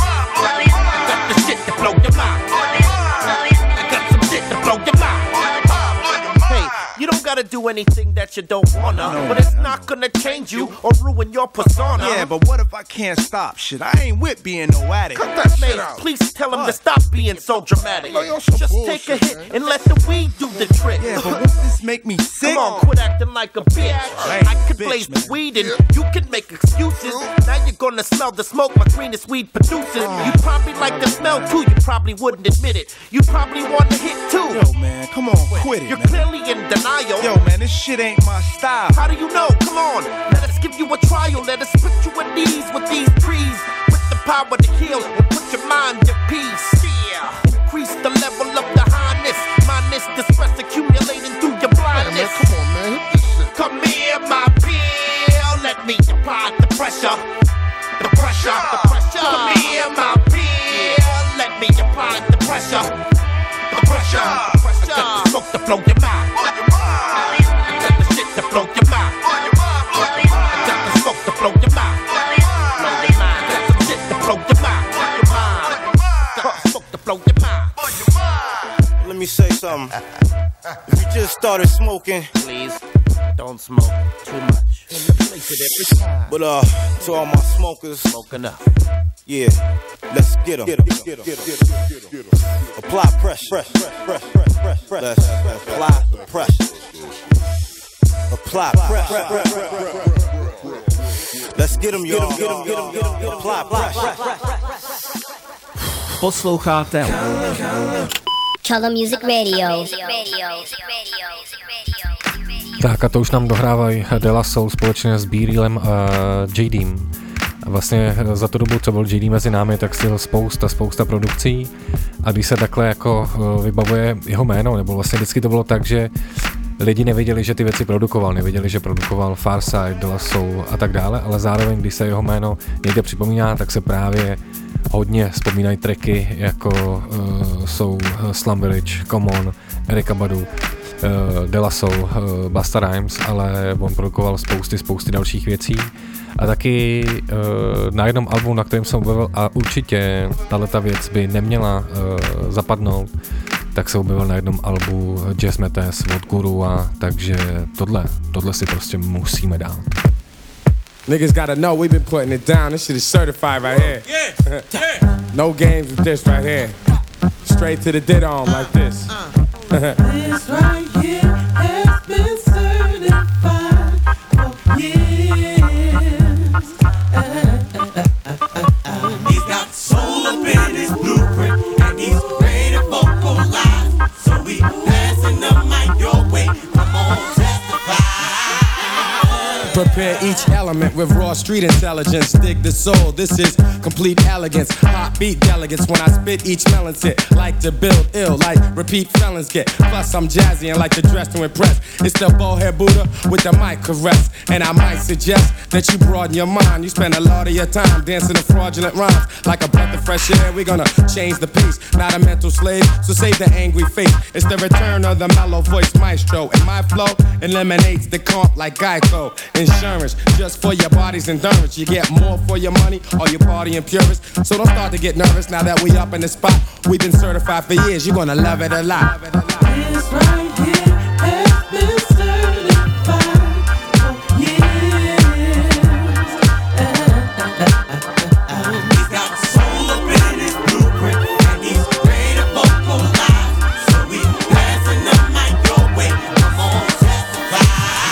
[SPEAKER 10] I got the shit to blow your mind. I got some shit to blow your mind. Hey, you don't
[SPEAKER 20] gotta do anything that you don't wanna, but it's not gonna change you or ruin your persona.
[SPEAKER 16] Yeah, but what if I can't stop shit? I ain't with being no addict.
[SPEAKER 20] Cut that shit out. Please tell him to stop being so dramatic. Just take a hit and let the weed do the trick.
[SPEAKER 16] Yeah, but won't this make me sick?
[SPEAKER 20] Come on, quit acting like a bitch. I could blaze the weed and you can make excuses. Now you're gonna smell the smoke my greenest weed produces. You probably like the smell too, you probably wouldn't admit it. You probably want to hit too.
[SPEAKER 16] Yo, man, come on, quit it.
[SPEAKER 20] You're
[SPEAKER 16] man.
[SPEAKER 20] clearly in denial.
[SPEAKER 16] Yo, man, this shit ain't my style.
[SPEAKER 20] How do you know? Come on, let us give you a trial. Let us put you at ease with these trees, with the power to heal and put your mind at peace. Yeah, increase the level of the highness. Minus the stress accumulating through your blindness.
[SPEAKER 18] Come on, man, hit this shit.
[SPEAKER 20] Come here, my pill. Let me apply the pressure. The pressure, the pressure. Come here, my pill. Let me apply the pressure. The pressure, the pressure. I got the smoke to blow your mind. I got the shit to blow your mind. I got the smoke to blow your mind. I got some shit to blow your mind. I got the smoke to blow your mind.
[SPEAKER 21] Let me say something. If you just started smoking,
[SPEAKER 20] please don't smoke too much.
[SPEAKER 21] But to all my smokers,
[SPEAKER 20] smoke enough.
[SPEAKER 21] Yeah, let's get 'em. Apply pressure. Let's apply pressure. Apply pressure. Let's get 'em, y'all. Apply pressure.
[SPEAKER 16] Posloucháte
[SPEAKER 2] Color Music Radio.
[SPEAKER 3] Tak a to už nám dohrávají De La Soul společně s B-Realem a JDem. A vlastně za tu dobu, co byl JD mezi námi, tak stihl spousta produkcí a když se takhle jako vybavuje jeho jméno, nebo vlastně vždycky to bylo tak, že lidi nevěděli, že ty věci produkoval, nevěděli, že produkoval Pharcyde, De La Soul a tak dále, ale zároveň, když se jeho jméno někde připomíná, tak se právě hodně vzpomínají tracky, jako jsou Slum Village, Common, Erykah Badu, De La Soul, Busta Rhymes, ale on produkoval spousty dalších věcí. A taky na jednom albu, na kterém jsem objevil, a určitě tato věc by neměla zapadnout, tak se objevil na jednom albu Jazz Matters od Guru, a takže tohle si prostě musíme dát.
[SPEAKER 12] Niggas gotta know we been putting it down. This shit is certified right here. No games with this right here. Straight to the did on like this.
[SPEAKER 9] This right here has been certified for years. He's got soul up in his blueprint, and he's ready to vocalize. So we passing the mic your way. Come on, testify.
[SPEAKER 12] Prepare each element with raw street intelligence. Dig the soul, this is complete elegance. Hot beat delegates when I spit each melon's hit. Like to build ill, like repeat felons get. Plus I'm jazzy and like to dress to impress. It's the bald-head Buddha with the mic caress. And I might suggest that you broaden your mind. You spend a lot of your time dancing to fraudulent rhymes. Like a breath of fresh air, we're gonna change the pace. Not a mental slave, so save the angry face. It's the return of the mellow voice maestro. And my flow eliminates the comp like Geico. Insurance, just for your body's endurance. You get more for your money, or your party and purist. So don't start to get nervous now that we up in the spot. We've been certified for years, you're gonna love it a lot.
[SPEAKER 9] This right here has been certified for years. He's got soul up in his blueprint, and he's ready to vocalize. So we passing the mic your way. Come on, testify.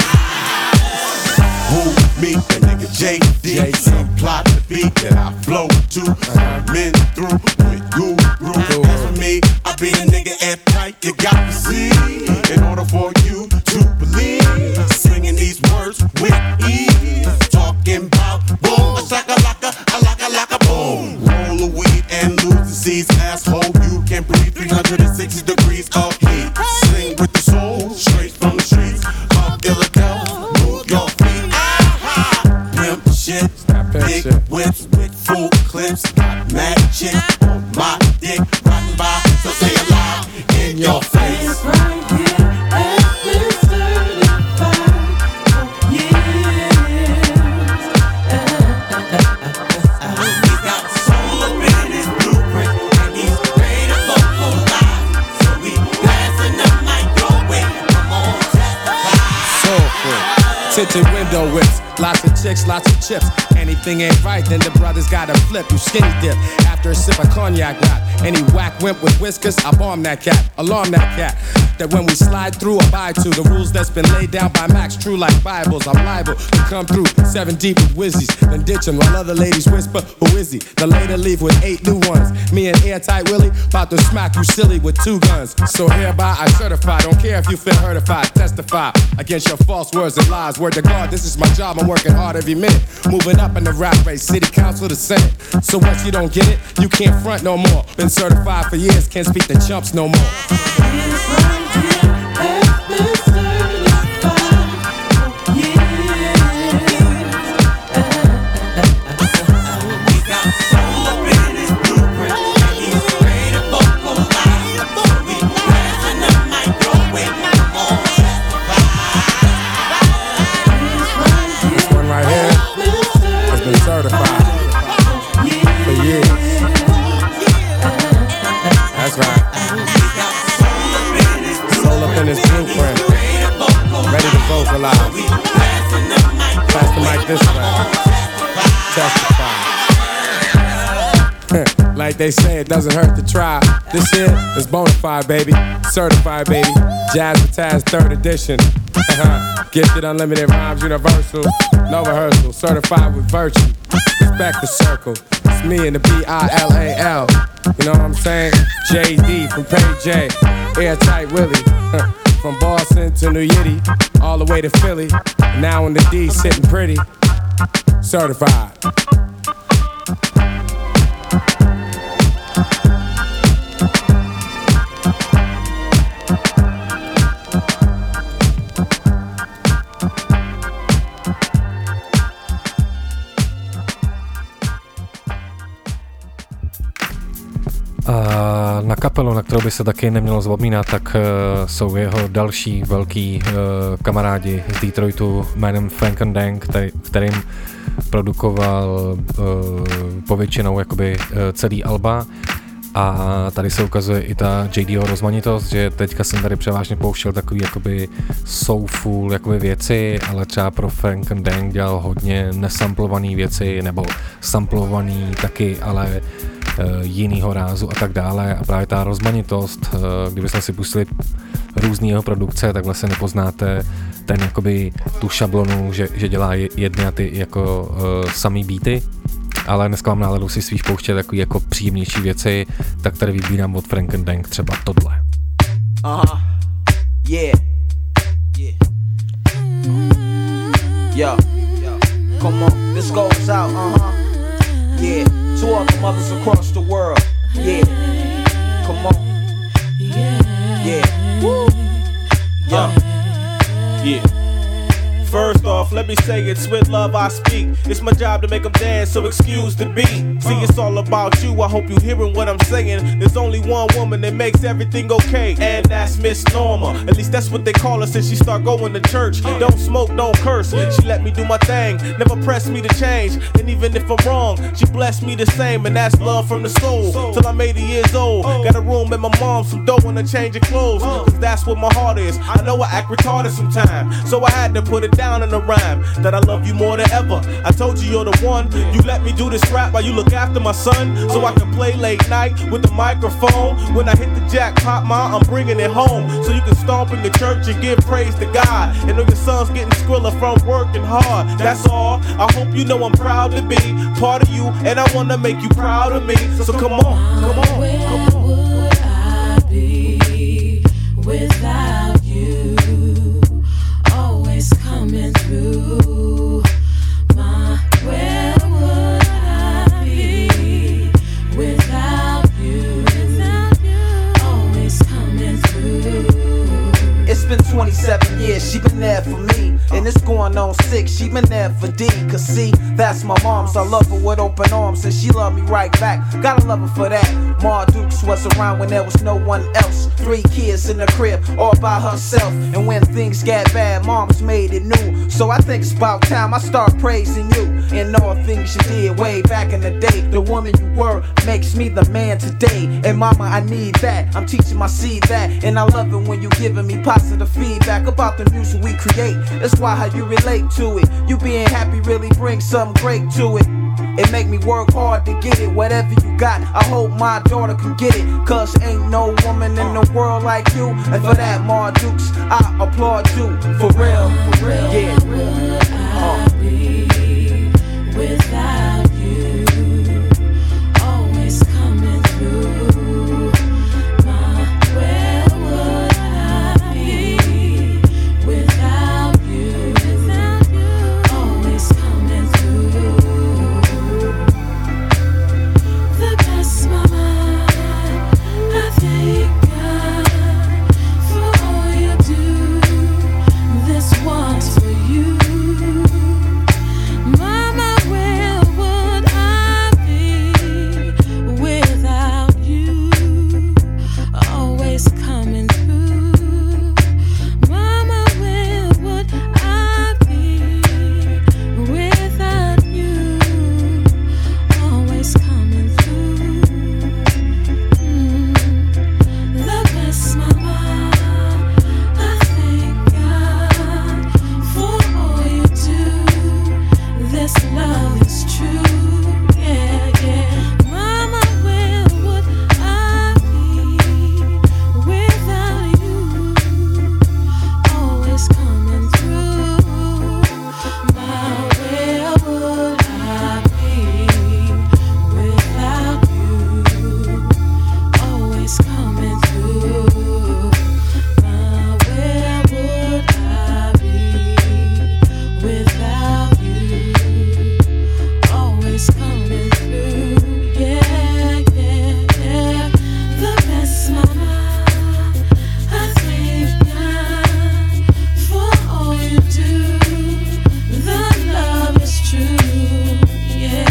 [SPEAKER 13] Who, me, and nigga JD, supply the beat that I flow to. Men through with Guru. As for me, I be the nigga at tight. You got to see, in order for you to believe, singing these words with ease, talking about boom, a shaka laka boom. Roll the weed and lose the seeds, asshole. You can breathe 360 degrees of heat. Sing with the soul, straight from the streets of Illinois. Move your feet. Pimp shit, big whips with full clips. Got mad shit on my dick, riding by, so say it loud in your face.
[SPEAKER 9] This right here has been certified for years. He's got soul up in his blueprint, and he's ready to vocalize. So we passing the mic your way. Come on, testify.
[SPEAKER 12] tinted window whips, lots of chicks, lots of chips. Anything ain't right, then the brothers gotta flip. You skinny dip after a sip of cognac rap. Any whack wimp with whiskers, I bomb that cat, alarm that cat. That when we slide through, abide to the rules that's been laid down by Max, true like Bibles. I'm liable to come through 7 deep with whizzies, then ditch 'em while other ladies whisper, who is he? Then later leave with 8 new ones. Me and Airtight Willie about to smack you silly with 2 guns. So hereby I certify, don't care if you feel hurtified, testify against your false words and lies. Word to God, this is my job, I'm working hard every minute. Moving up in the rap race, city council to senate. So what, you don't get it? You can't front no more. Been certified for years, can't speak to chumps no more. Certified for years. That's right. Soul up in his blueprint, ready to vocalize. Pass the mic this way. Testify. Like they say, it doesn't hurt to try. This here is bonafide, baby. Certified, baby. Jazz with Taz 3rd edition. Gifted unlimited rhymes, universal. No rehearsal, certified with virtue. Respect the circle. It's me and the B-I-L-A-L. You know what I'm saying? J.D. from Page J. Airtight Willie. From Boston to New Yiddy, all the way to Philly. Now in the D, sitting pretty. Certified.
[SPEAKER 3] Na kapelu, na kterou by se taky nemělo zapomínat, tak jsou jeho další velký kamarádi z Detroitu jménem Frank and Dank, kterým produkoval povětšinou jakoby celý alba. A tady se ukazuje i ta JDho rozmanitost, že teďka jsem tady převážně pouštěl takový jakoby soulful jakoby věci, ale třeba pro Frank and Dank dělal hodně nesamplovaný věci, nebo samplovaný taky, ale jinýho rázu a tak dále. A právě ta rozmanitost, kdybyste si pustili různý jeho produkce, tak vlastně nepoznáte ten jakoby tu šablonu, že dělá jedny a ty jako samý beaty. Ale dneska mám náladu si svých pouštět takový jako příjemnější věci, tak tady vybírám od Frank and Dank třeba tohle.
[SPEAKER 14] Yeah. Yo, come on, this goes out, yeah, to all the mothers across the world, yeah, come on, yeah, woo, yo, yeah. First off, let me say it's with love I speak. It's my job to make them dance, so excuse the beat. See, it's all about you, I hope you hearing what I'm saying. There's only one woman that makes everything okay, and that's Miss Norma. At least that's what they call her since she start going to church. Don't smoke, don't curse, she let me do my thing. Never press me to change, and even if I'm wrong, she blessed me the same, and that's love from the soul. Till I'm 80 years old, got a room at my mom's, some dough and a change of clothes, cause that's what my heart is. I know I act retarded sometimes, so I had to put it down in a rhyme that I love you more than ever. I told you you're the one. You let me do this rap while you look after my son, so I can play late night with the microphone. When I hit the jackpot, ma, I'm bringing it home, so you can stomp in the church and give praise to God. And know your son's getting skrilla from working hard. That's all. I hope you know I'm proud to be part of you, and I wanna make you proud of me. So come on, come on, come on.
[SPEAKER 9] Where would I be without you? Always coming through. Where would I be without you? Always coming through.
[SPEAKER 14] It's been 27 years, she been there for me. And it's going on 6, she been there for D. Cause see, that's my mom, so I love her with open arms, and she love me right back. Gotta love her for that. Ma Dukes was around when there was no one else. 3 kids in the crib, all by herself. And when things got bad, mom's made it new. So I think it's about time I start praising you. And all things you did way back in the day. The woman you were makes me the man today. And mama, I need that. I'm teaching my seed that. And I love it when you giving me positive feedback about the music we create. create. That's why how you relate to it. You being happy really brings something great to it. It make me work hard to get it. Whatever you got, I hope my daughter can get it. Cause ain't no woman in the world like you. And for that, Mar Dukes, I applaud you. For real, yeah.
[SPEAKER 9] Without you, always coming through. Where would I be without you? Always coming through. The best mama, I thank God for all you do. This one's for you. Mama, where would I be without you? Always coming through. Mama, where would I be without you? Always coming through. The best mama, I thank God for all you do. This love is true, yeah, yeah. Mama, where would I be without you? Always coming through. My, where would I be without you? Always coming through. My, where would I be without you? Always coming through, yeah, yeah, yeah. The best mama, I thank God for all you do. The love is true, yeah.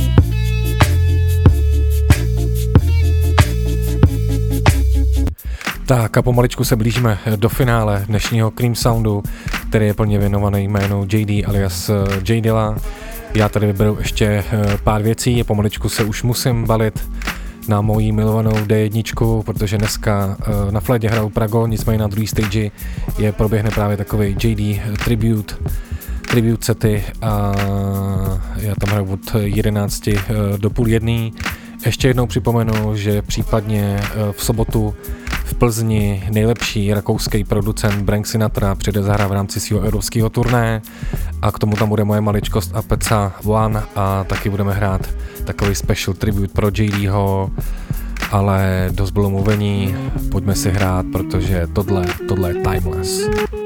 [SPEAKER 3] Tak a pomaličku se blížíme do finále dnešního Cream Soundu, který je plně věnovaný jménu JD alias J Dilla. Já tady vyberu ještě pár věcí a pomaličku se už musím balit na moji milovanou D1, protože dneska na flédě hraju Prago, nicméně na druhé stage proběhne právě takový JD tribute sety a já tam hraju od 11 do půl jedné. Ještě jednou připomenu, že případně v sobotu v Plzni nejlepší rakouský producent Brank Sinatra přijde zahrát v rámci svého evropského turné a k tomu tam bude moje maličkost a Peca One a taky budeme hrát takový special tribute pro JDho, ale dost bylo mluvení, pojďme si hrát, protože tohle je timeless.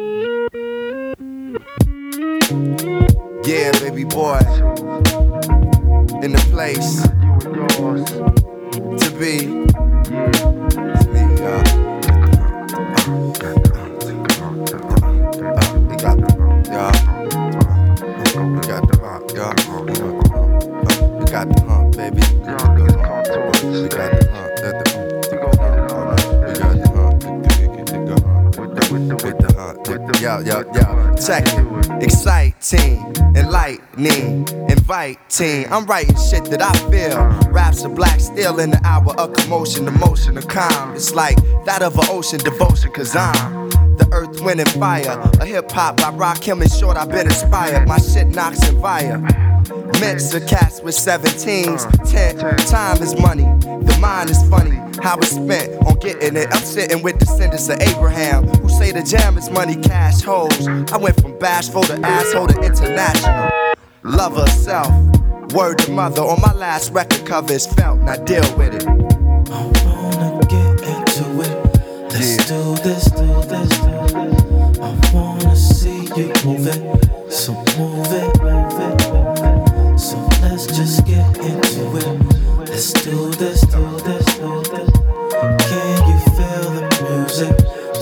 [SPEAKER 15] Yeah, baby boy, in the place to be. It's me, we got the hump, baby. We got the hump. Yo, check it. Exciting, enlightening, inviting. I'm writing shit that I feel. Raps are black steel in the hour of commotion, emotion of calm. It's like that of an ocean devotion, cause I'm the earth, wind, and fire. A hip hop by Rakim and Short, I've been inspired. My shit knocks and fire. Mix of cats with 17s. 10, time is money. The mind is funny. How it's spent on getting it. I'm sitting with descendants of Abraham who say the jam is money, cash hoes. I went from bashful to asshole to international. Love herself. Word to mother on my last record cover is felt. Now deal with it.
[SPEAKER 9] I wanna get into it. Let's do this. I wanna see you move it. So move it. So let's just get into it. Let's do this. Can you feel the music?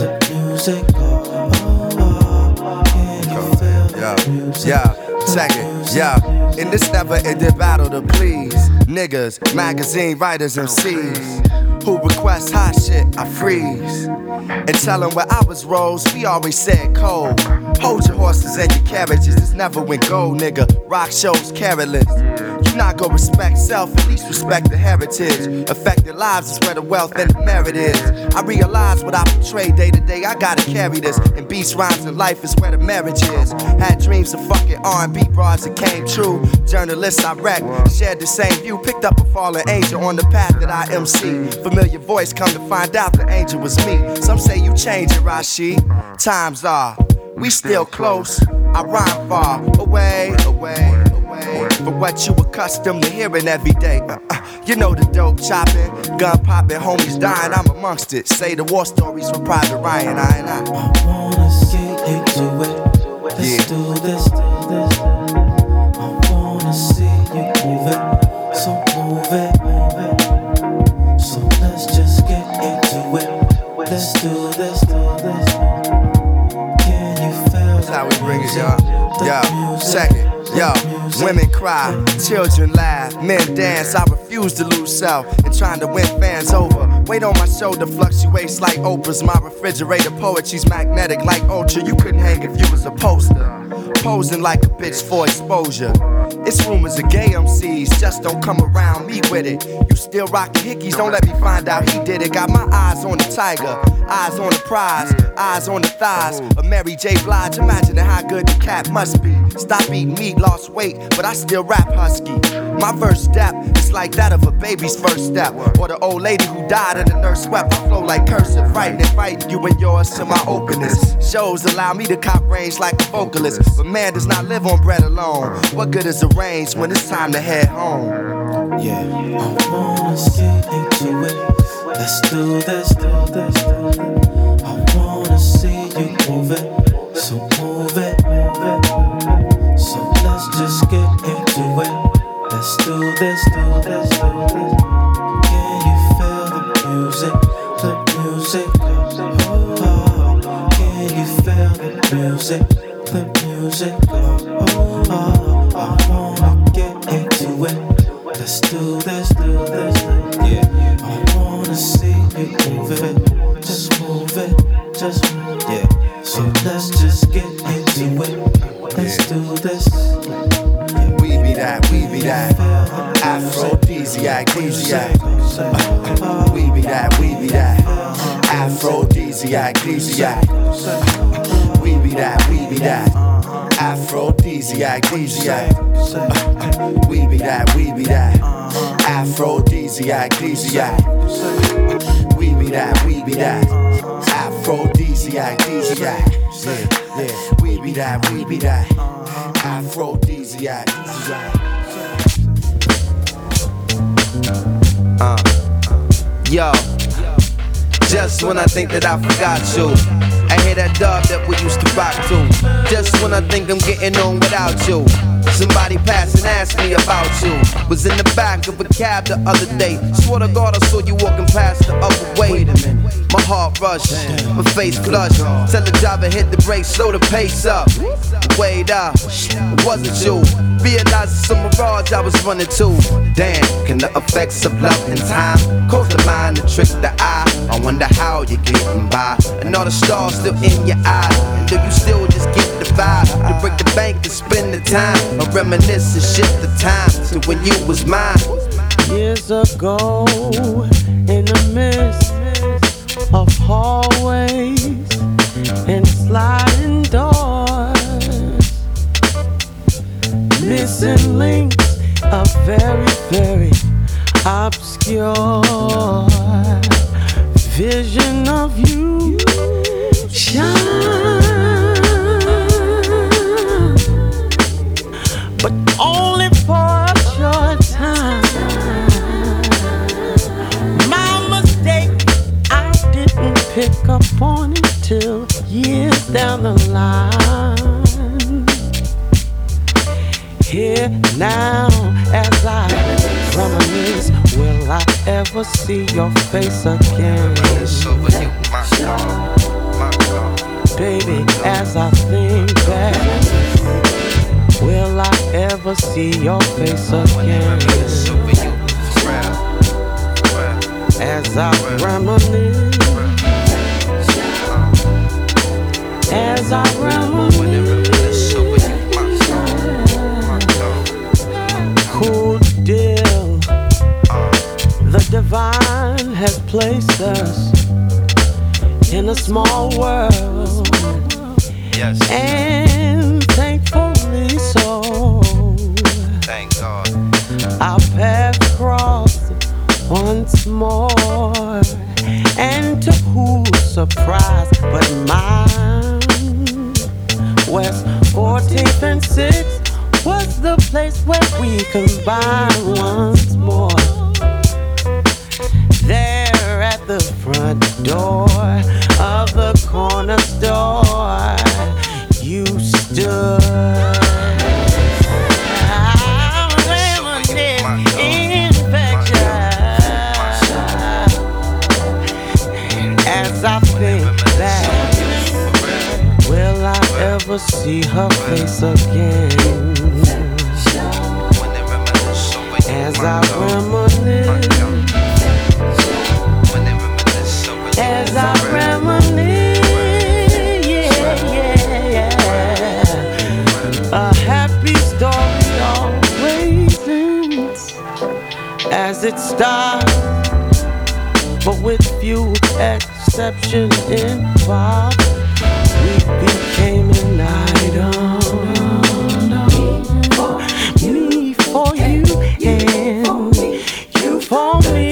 [SPEAKER 9] Can you feel the music?
[SPEAKER 15] Yeah, check it, yeah. In this never-ending battle to please niggas, magazine writers, MCs who request hot shit, I freeze. And tell them where I was rose, we always said cold. Hold your horses and your carriages, this never went gold, nigga. Rock shows careless. You You not gonna respect self, at least respect the heritage. Affected lives is where the wealth and the merit is. I realize what I portray day to day, I gotta carry this. And beats, rhymes, and life is where the marriage is. Had dreams of fucking R&B bras that came true. Journalists I wreck, shared the same view. Picked up a fallen angel on the path that I MC. Familiar voice, come to find out the angel was me. Some say you change it, Rashid. Times are, we still close. I rhyme far away, away, away. For what you accustomed to hearing every day. You know the dope chopping, gun popping, homies dying, I'm amongst it. Say the war stories from Private Ryan, I
[SPEAKER 9] wanna get into it. Let's do this. I wanna see you move it. So move it. So let's just get into it. Let's do this. Can you feel
[SPEAKER 15] that's how we bring it, y'all. Yo, second. Yo, women cry, children laugh, men dance. I refuse to lose self and trying to win fans over. Weight on my shoulder fluctuates like Oprah's. My refrigerator poetry's magnetic like Ultra. You couldn't hang if you was a poster. Posing like a bitch for exposure. It's rumors of gay MCs, just don't come around me with it. You still rockin' hickeys, don't let me find out he did it. Got my eyes on the tiger, eyes on the prize, eyes on the thighs of Mary J. Blige. Imagine how good the cat must be. Stop eating meat, lost weight, but I still rap husky. My verse step is like that of a baby's first step, or the old lady who died and the nurse swept. I flow like cursive, fighting you and yours to my openness. Shows allow me to cop range like a vocalist, but man does not live on bread alone. What good is a range when it's time to head home?
[SPEAKER 9] Yeah, I wanna get into it. Let's do this. I wanna see you move it. So move it. So let's just get into it. Let's do this. Can you feel the music? The music. Oh, can you feel the music? The music. Oh, I wanna get into it. Let's do this. Yeah, I wanna see you move it. Just move it. Yeah. So let's just get into it. Let's do this.
[SPEAKER 15] We be that. Aphrodisiac. We be that. Aphrodisiac. We be that. Aphrodisiac. We be that. Aphrodisiac. We be that. Aphrodisiac. Yeah. We be that. Aphrodisiac. Yo, just when I think that I forgot you, I hear that dub that we used to rock to. Just when I think I'm getting on without you, somebody passed and asked me about you. Was in the back of a cab the other day. Swear to God I saw you walking past the other way. Wait a minute. My heart rushed, my face flushed. Tell the driver hit the brakes, slow the pace up. Wait up, it wasn't you. Realized it's a mirage I was running to. Damn, can the effects of love and time cause the mind to trick the eye? I wonder how you're getting by, and all the stars still in your eyes. And do you still just get the vibe to break the bank and spend the time, or reminisce and shift the time to when you was mine?
[SPEAKER 9] Years ago, in the midst of hallways and sliding doors, missing links, a very, very obscure vision of you shine, but only for a short time. My mistake, I didn't pick up on it till years down the line. Here now, as I reminisce, will I ever see your face again? Baby, as I think back, will I ever see your face again? As I reminisce, as I reminisce, cool
[SPEAKER 17] small world.
[SPEAKER 15] Yes.
[SPEAKER 17] And thankfully so.
[SPEAKER 15] Thank God.
[SPEAKER 17] Our paths crossed once more. And to whose surprise but mine, West 14th and 6th was the place where we combined once more. There at the front door of the corner store, you stood. I reminisce infectious as I think back. Will I ever see her face again? As I reminisce. As I reminisce, yeah. A happy story always ends as it starts, but with few exceptions involved, we became an item. Me for you and you for me.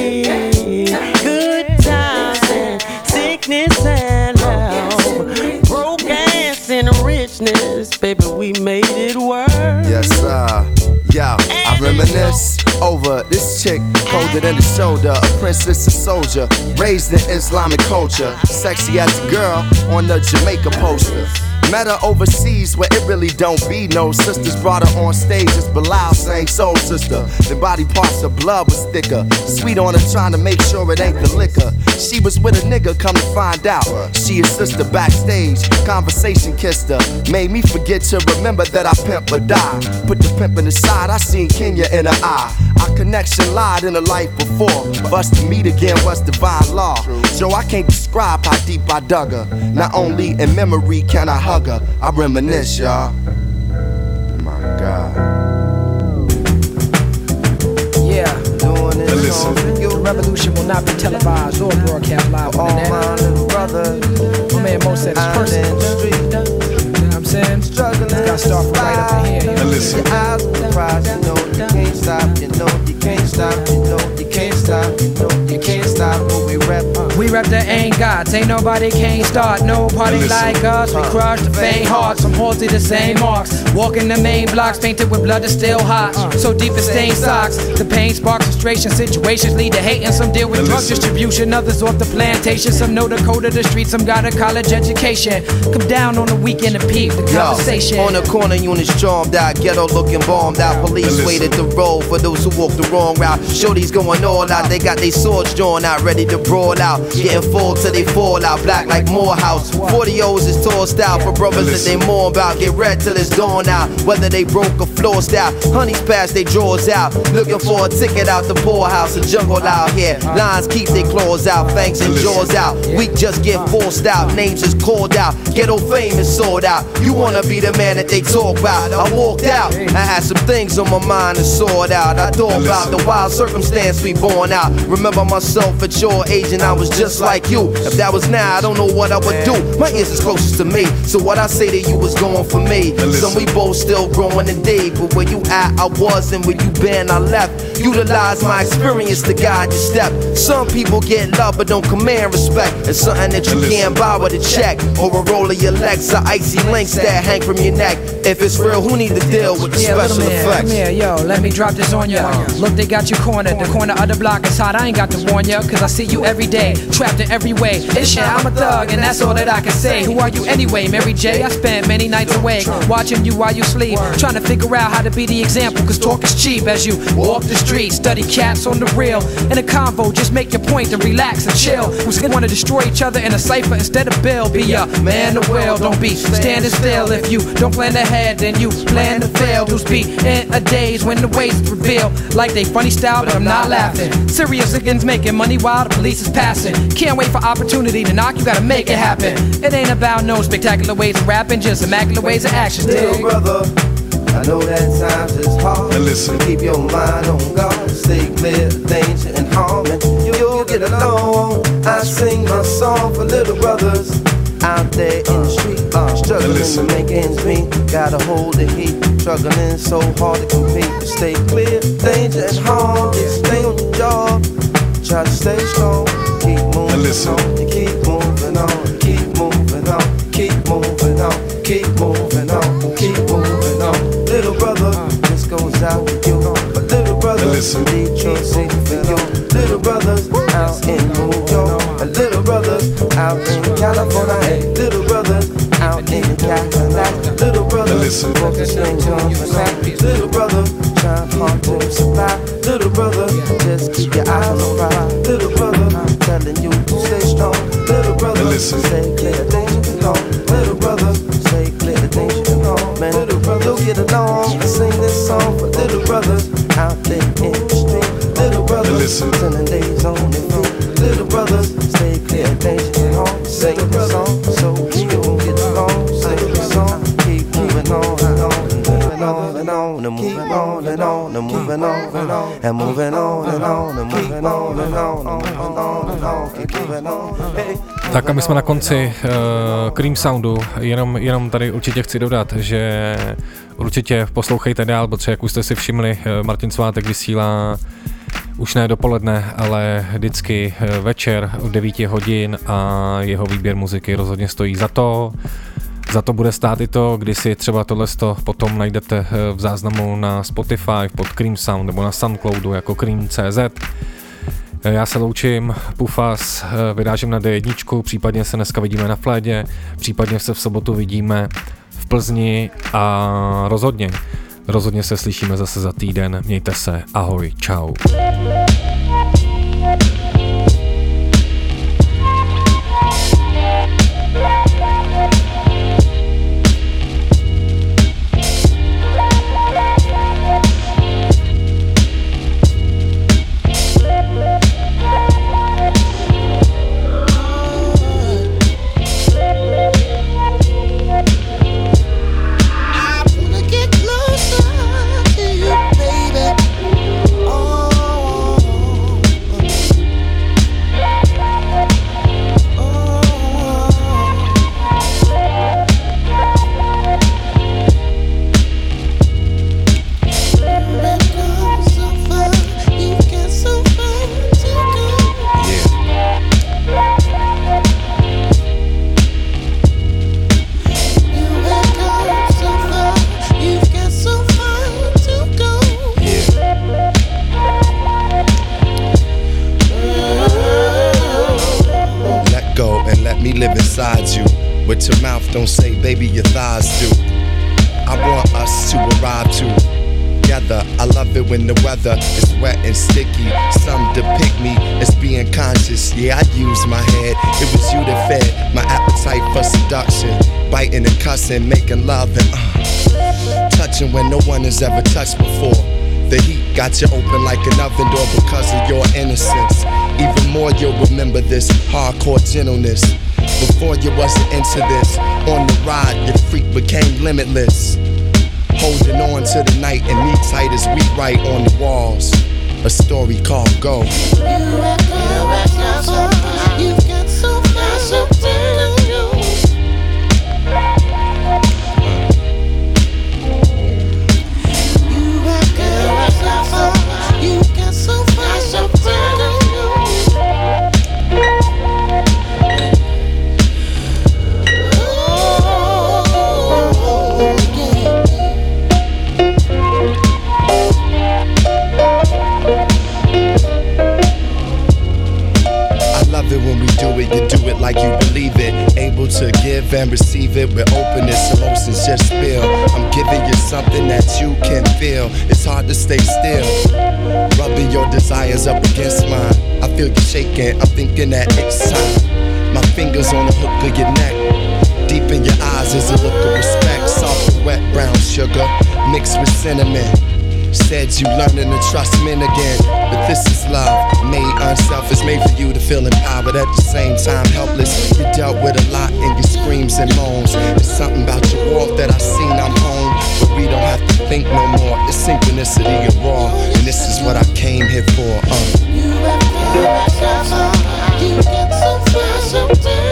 [SPEAKER 17] Good times and sickness and love, broke ass and richness, baby, we made it work.
[SPEAKER 15] Yes, sir. Yo, I reminisce over this chick, colder than the shoulder, a princess, a soldier, raised in Islamic culture, sexy as a girl on the Jamaica poster. Met her overseas where it really don't be no sisters. Brought her on stage as Bilal sang Soul Sister. The body parts of blood was thicker. Sweet on her trying to make sure it ain't the liquor. She was with a nigga, come to find out. She his sister backstage, conversation kissed her. Made me forget to remember that I pimp or die. Put the pimp in the side, I seen Kenya in her eye. Our connection lied in a life before. For us to meet again was divine law. Joe, I can't describe how deep I dug her. Not only in memory can I hug her, I reminisce, y'all. My God.
[SPEAKER 14] Yeah, doing it. Listen. The revolution will not be televised or broadcast live on the net. All my little brothers. My man Mo said it's personal. You know what I'm saying? Struggling. Gotta start from right up in here.
[SPEAKER 15] Listen. Your eyes on the prize, you know you can't stop. You know you can't stop. You know you can't stop. You know you can't stop. But we rap.
[SPEAKER 14] We rep the ain't gods, ain't nobody can't start. No party like us, we crush the faint hearts. From halls to the same marks. Walking the main blocks, painted with blood that's still hot. So deep it stained socks. The pain sparks frustration, situations lead to hate. And some deal with drug distribution, others off the plantation. Some know the code of the street, some got a college education. Come down on the weekend and peep the conversation.
[SPEAKER 19] Yo, on the corner, units stormed out, ghetto looking bombed out. Police waited the road for those who walked the wrong route. Shorty's going all out, they got their swords drawn out, ready to brawl out. Getting full till they fall out, black like Morehouse. 40-O's is tossed out for brothers that they mourn about. Get red till it's dawn out, whether they broke or flossed out. Honeys pass they drawers out, looking for a ticket out the poorhouse. A jungle out here, lions keep their claws out, fangs and jaws out. We just get forced out, names is called out. Ghetto fame is sold out. You wanna be the man that they talk about. I walked out, I had some things on my mind to sort out. I thought about the wild circumstance we born out. Remember myself at your age and I was just like you. If that was now, I don't know what I would do. My ears is closest to me, so what I say to you was going for me. Some we both still growing today, but where you at, I was, and where you been, I left. Utilize my experience to guide your step. Some people get love but don't command respect. It's something that you can't buy with a check or a roll of your legs or icy links that hang from your neck. If it's real, who need to deal with the special effects?
[SPEAKER 14] Come here, yo, let me drop this on ya. Look, they got you cornered. The corner of the block is hot. I ain't got to warn ya, cause I see you every day, trapped in every way. It's shit, I'm a thug, and that's all that I can say. Who are you anyway, Mary J? I spent many nights awake, watching you while you sleep, trying to figure out how to be the example, cause talk is cheap as you walk the street. Study cats on the real. In a convo, just make your point and relax and chill. Who's gonna wanna destroy each other in a cipher instead of Bill? Be a man to will, don't be standing still. If you don't plan ahead, then you plan to fail. Dudes be in a daze when the ways reveal like they funny style, but I'm not laughing. Serious against making money while the police is passing. Can't wait for opportunity to knock, you gotta make it happen. It ain't about no spectacular ways of rapping, just immaculate ways of action.
[SPEAKER 15] Little brother,
[SPEAKER 19] I know that times is hard.
[SPEAKER 18] Listen.
[SPEAKER 19] Keep your mind on God. Stay clear of danger and harm, and you'll get along. I sing my song for little brothers out there in the street, struggling to make ends meet. Gotta hold the heat, struggling so hard to compete. But stay clear, danger and harm. Stay on your job, try to stay strong. Keep moving on, you keep moving on, keep moving on, keep moving on, keep moving on, keep moving on. Little brother, this goes out to you. But little brothers in Detroit, say for you. Little brothers out in New York, and little brothers out in California, hey, little brothers out in Cadillac, little brothers smoking sling joints and rap, little brothers trying hard to survive, little brother just keep your eyes on the prize, little brother telling you to stay strong, little brother stay clear of danger and harm, little brother stay clear of danger and harm, man, little brother you'll get along and sing this song for little brothers out there in the street, little brothers spending days on their feet, little brothers stay clear of danger and harm, sing the song so we gon' get along, sing the song, keep moving on and on and moving on and on and moving on and on and moving on and on and moving on and on and moving on and on and moving on and on, keep moving on, hey.
[SPEAKER 3] Tak a my jsme na konci Cream Soundu, jenom tady určitě chci dodat, že určitě poslouchejte dál, protože jak už jste si všimli, Martin Svátek vysílá už ne dopoledne, ale vždycky večer od 9 hodin a jeho výběr muziky rozhodně stojí za to. Za to bude stát i to, když si třeba tohleto potom najdete v záznamu na Spotify pod Cream Sound nebo na Soundcloudu jako Cream.cz. Já se loučím, Pufas, vyrážím na D1, případně se dneska vidíme na Flédě, případně se v sobotu vidíme v Plzni a rozhodně se slyšíme zase za týden. Mějte se, ahoj, čau.
[SPEAKER 15] Don't say, baby, your thighs do. I want us to arrive together. I love it when the weather is wet and sticky. Some depict me as being conscious. Yeah, I use my head. It was you that fed my appetite for seduction. Biting and cussing, making love and touching when no one has ever touched before. The heat got you open like an oven door because of your innocence. Even more, you'll remember this hardcore gentleness. Before you wasn't into this, on the ride your freak became limitless. Holding on to the night and me tight as we write on the walls. A story called Go. You do it like you believe it, able to give and receive it with openness. Emotions just spill. I'm giving you something that you can feel. It's hard to stay still, rubbing your desires up against mine. I feel you shaking, I'm thinking that it's time. My fingers on the hook of your neck. Deep in your eyes is a look of respect. Soft and wet brown sugar mixed with cinnamon. Said you learning to trust men again, but this is love, made unselfish, made for you to feel empowered at the same time helpless. You dealt with a lot in your screams and moans. There's something about your walk that I seen I'm home, but we don't have to
[SPEAKER 5] synchronicity of raw, and this is what I came here for.
[SPEAKER 9] You get so fly sometimes.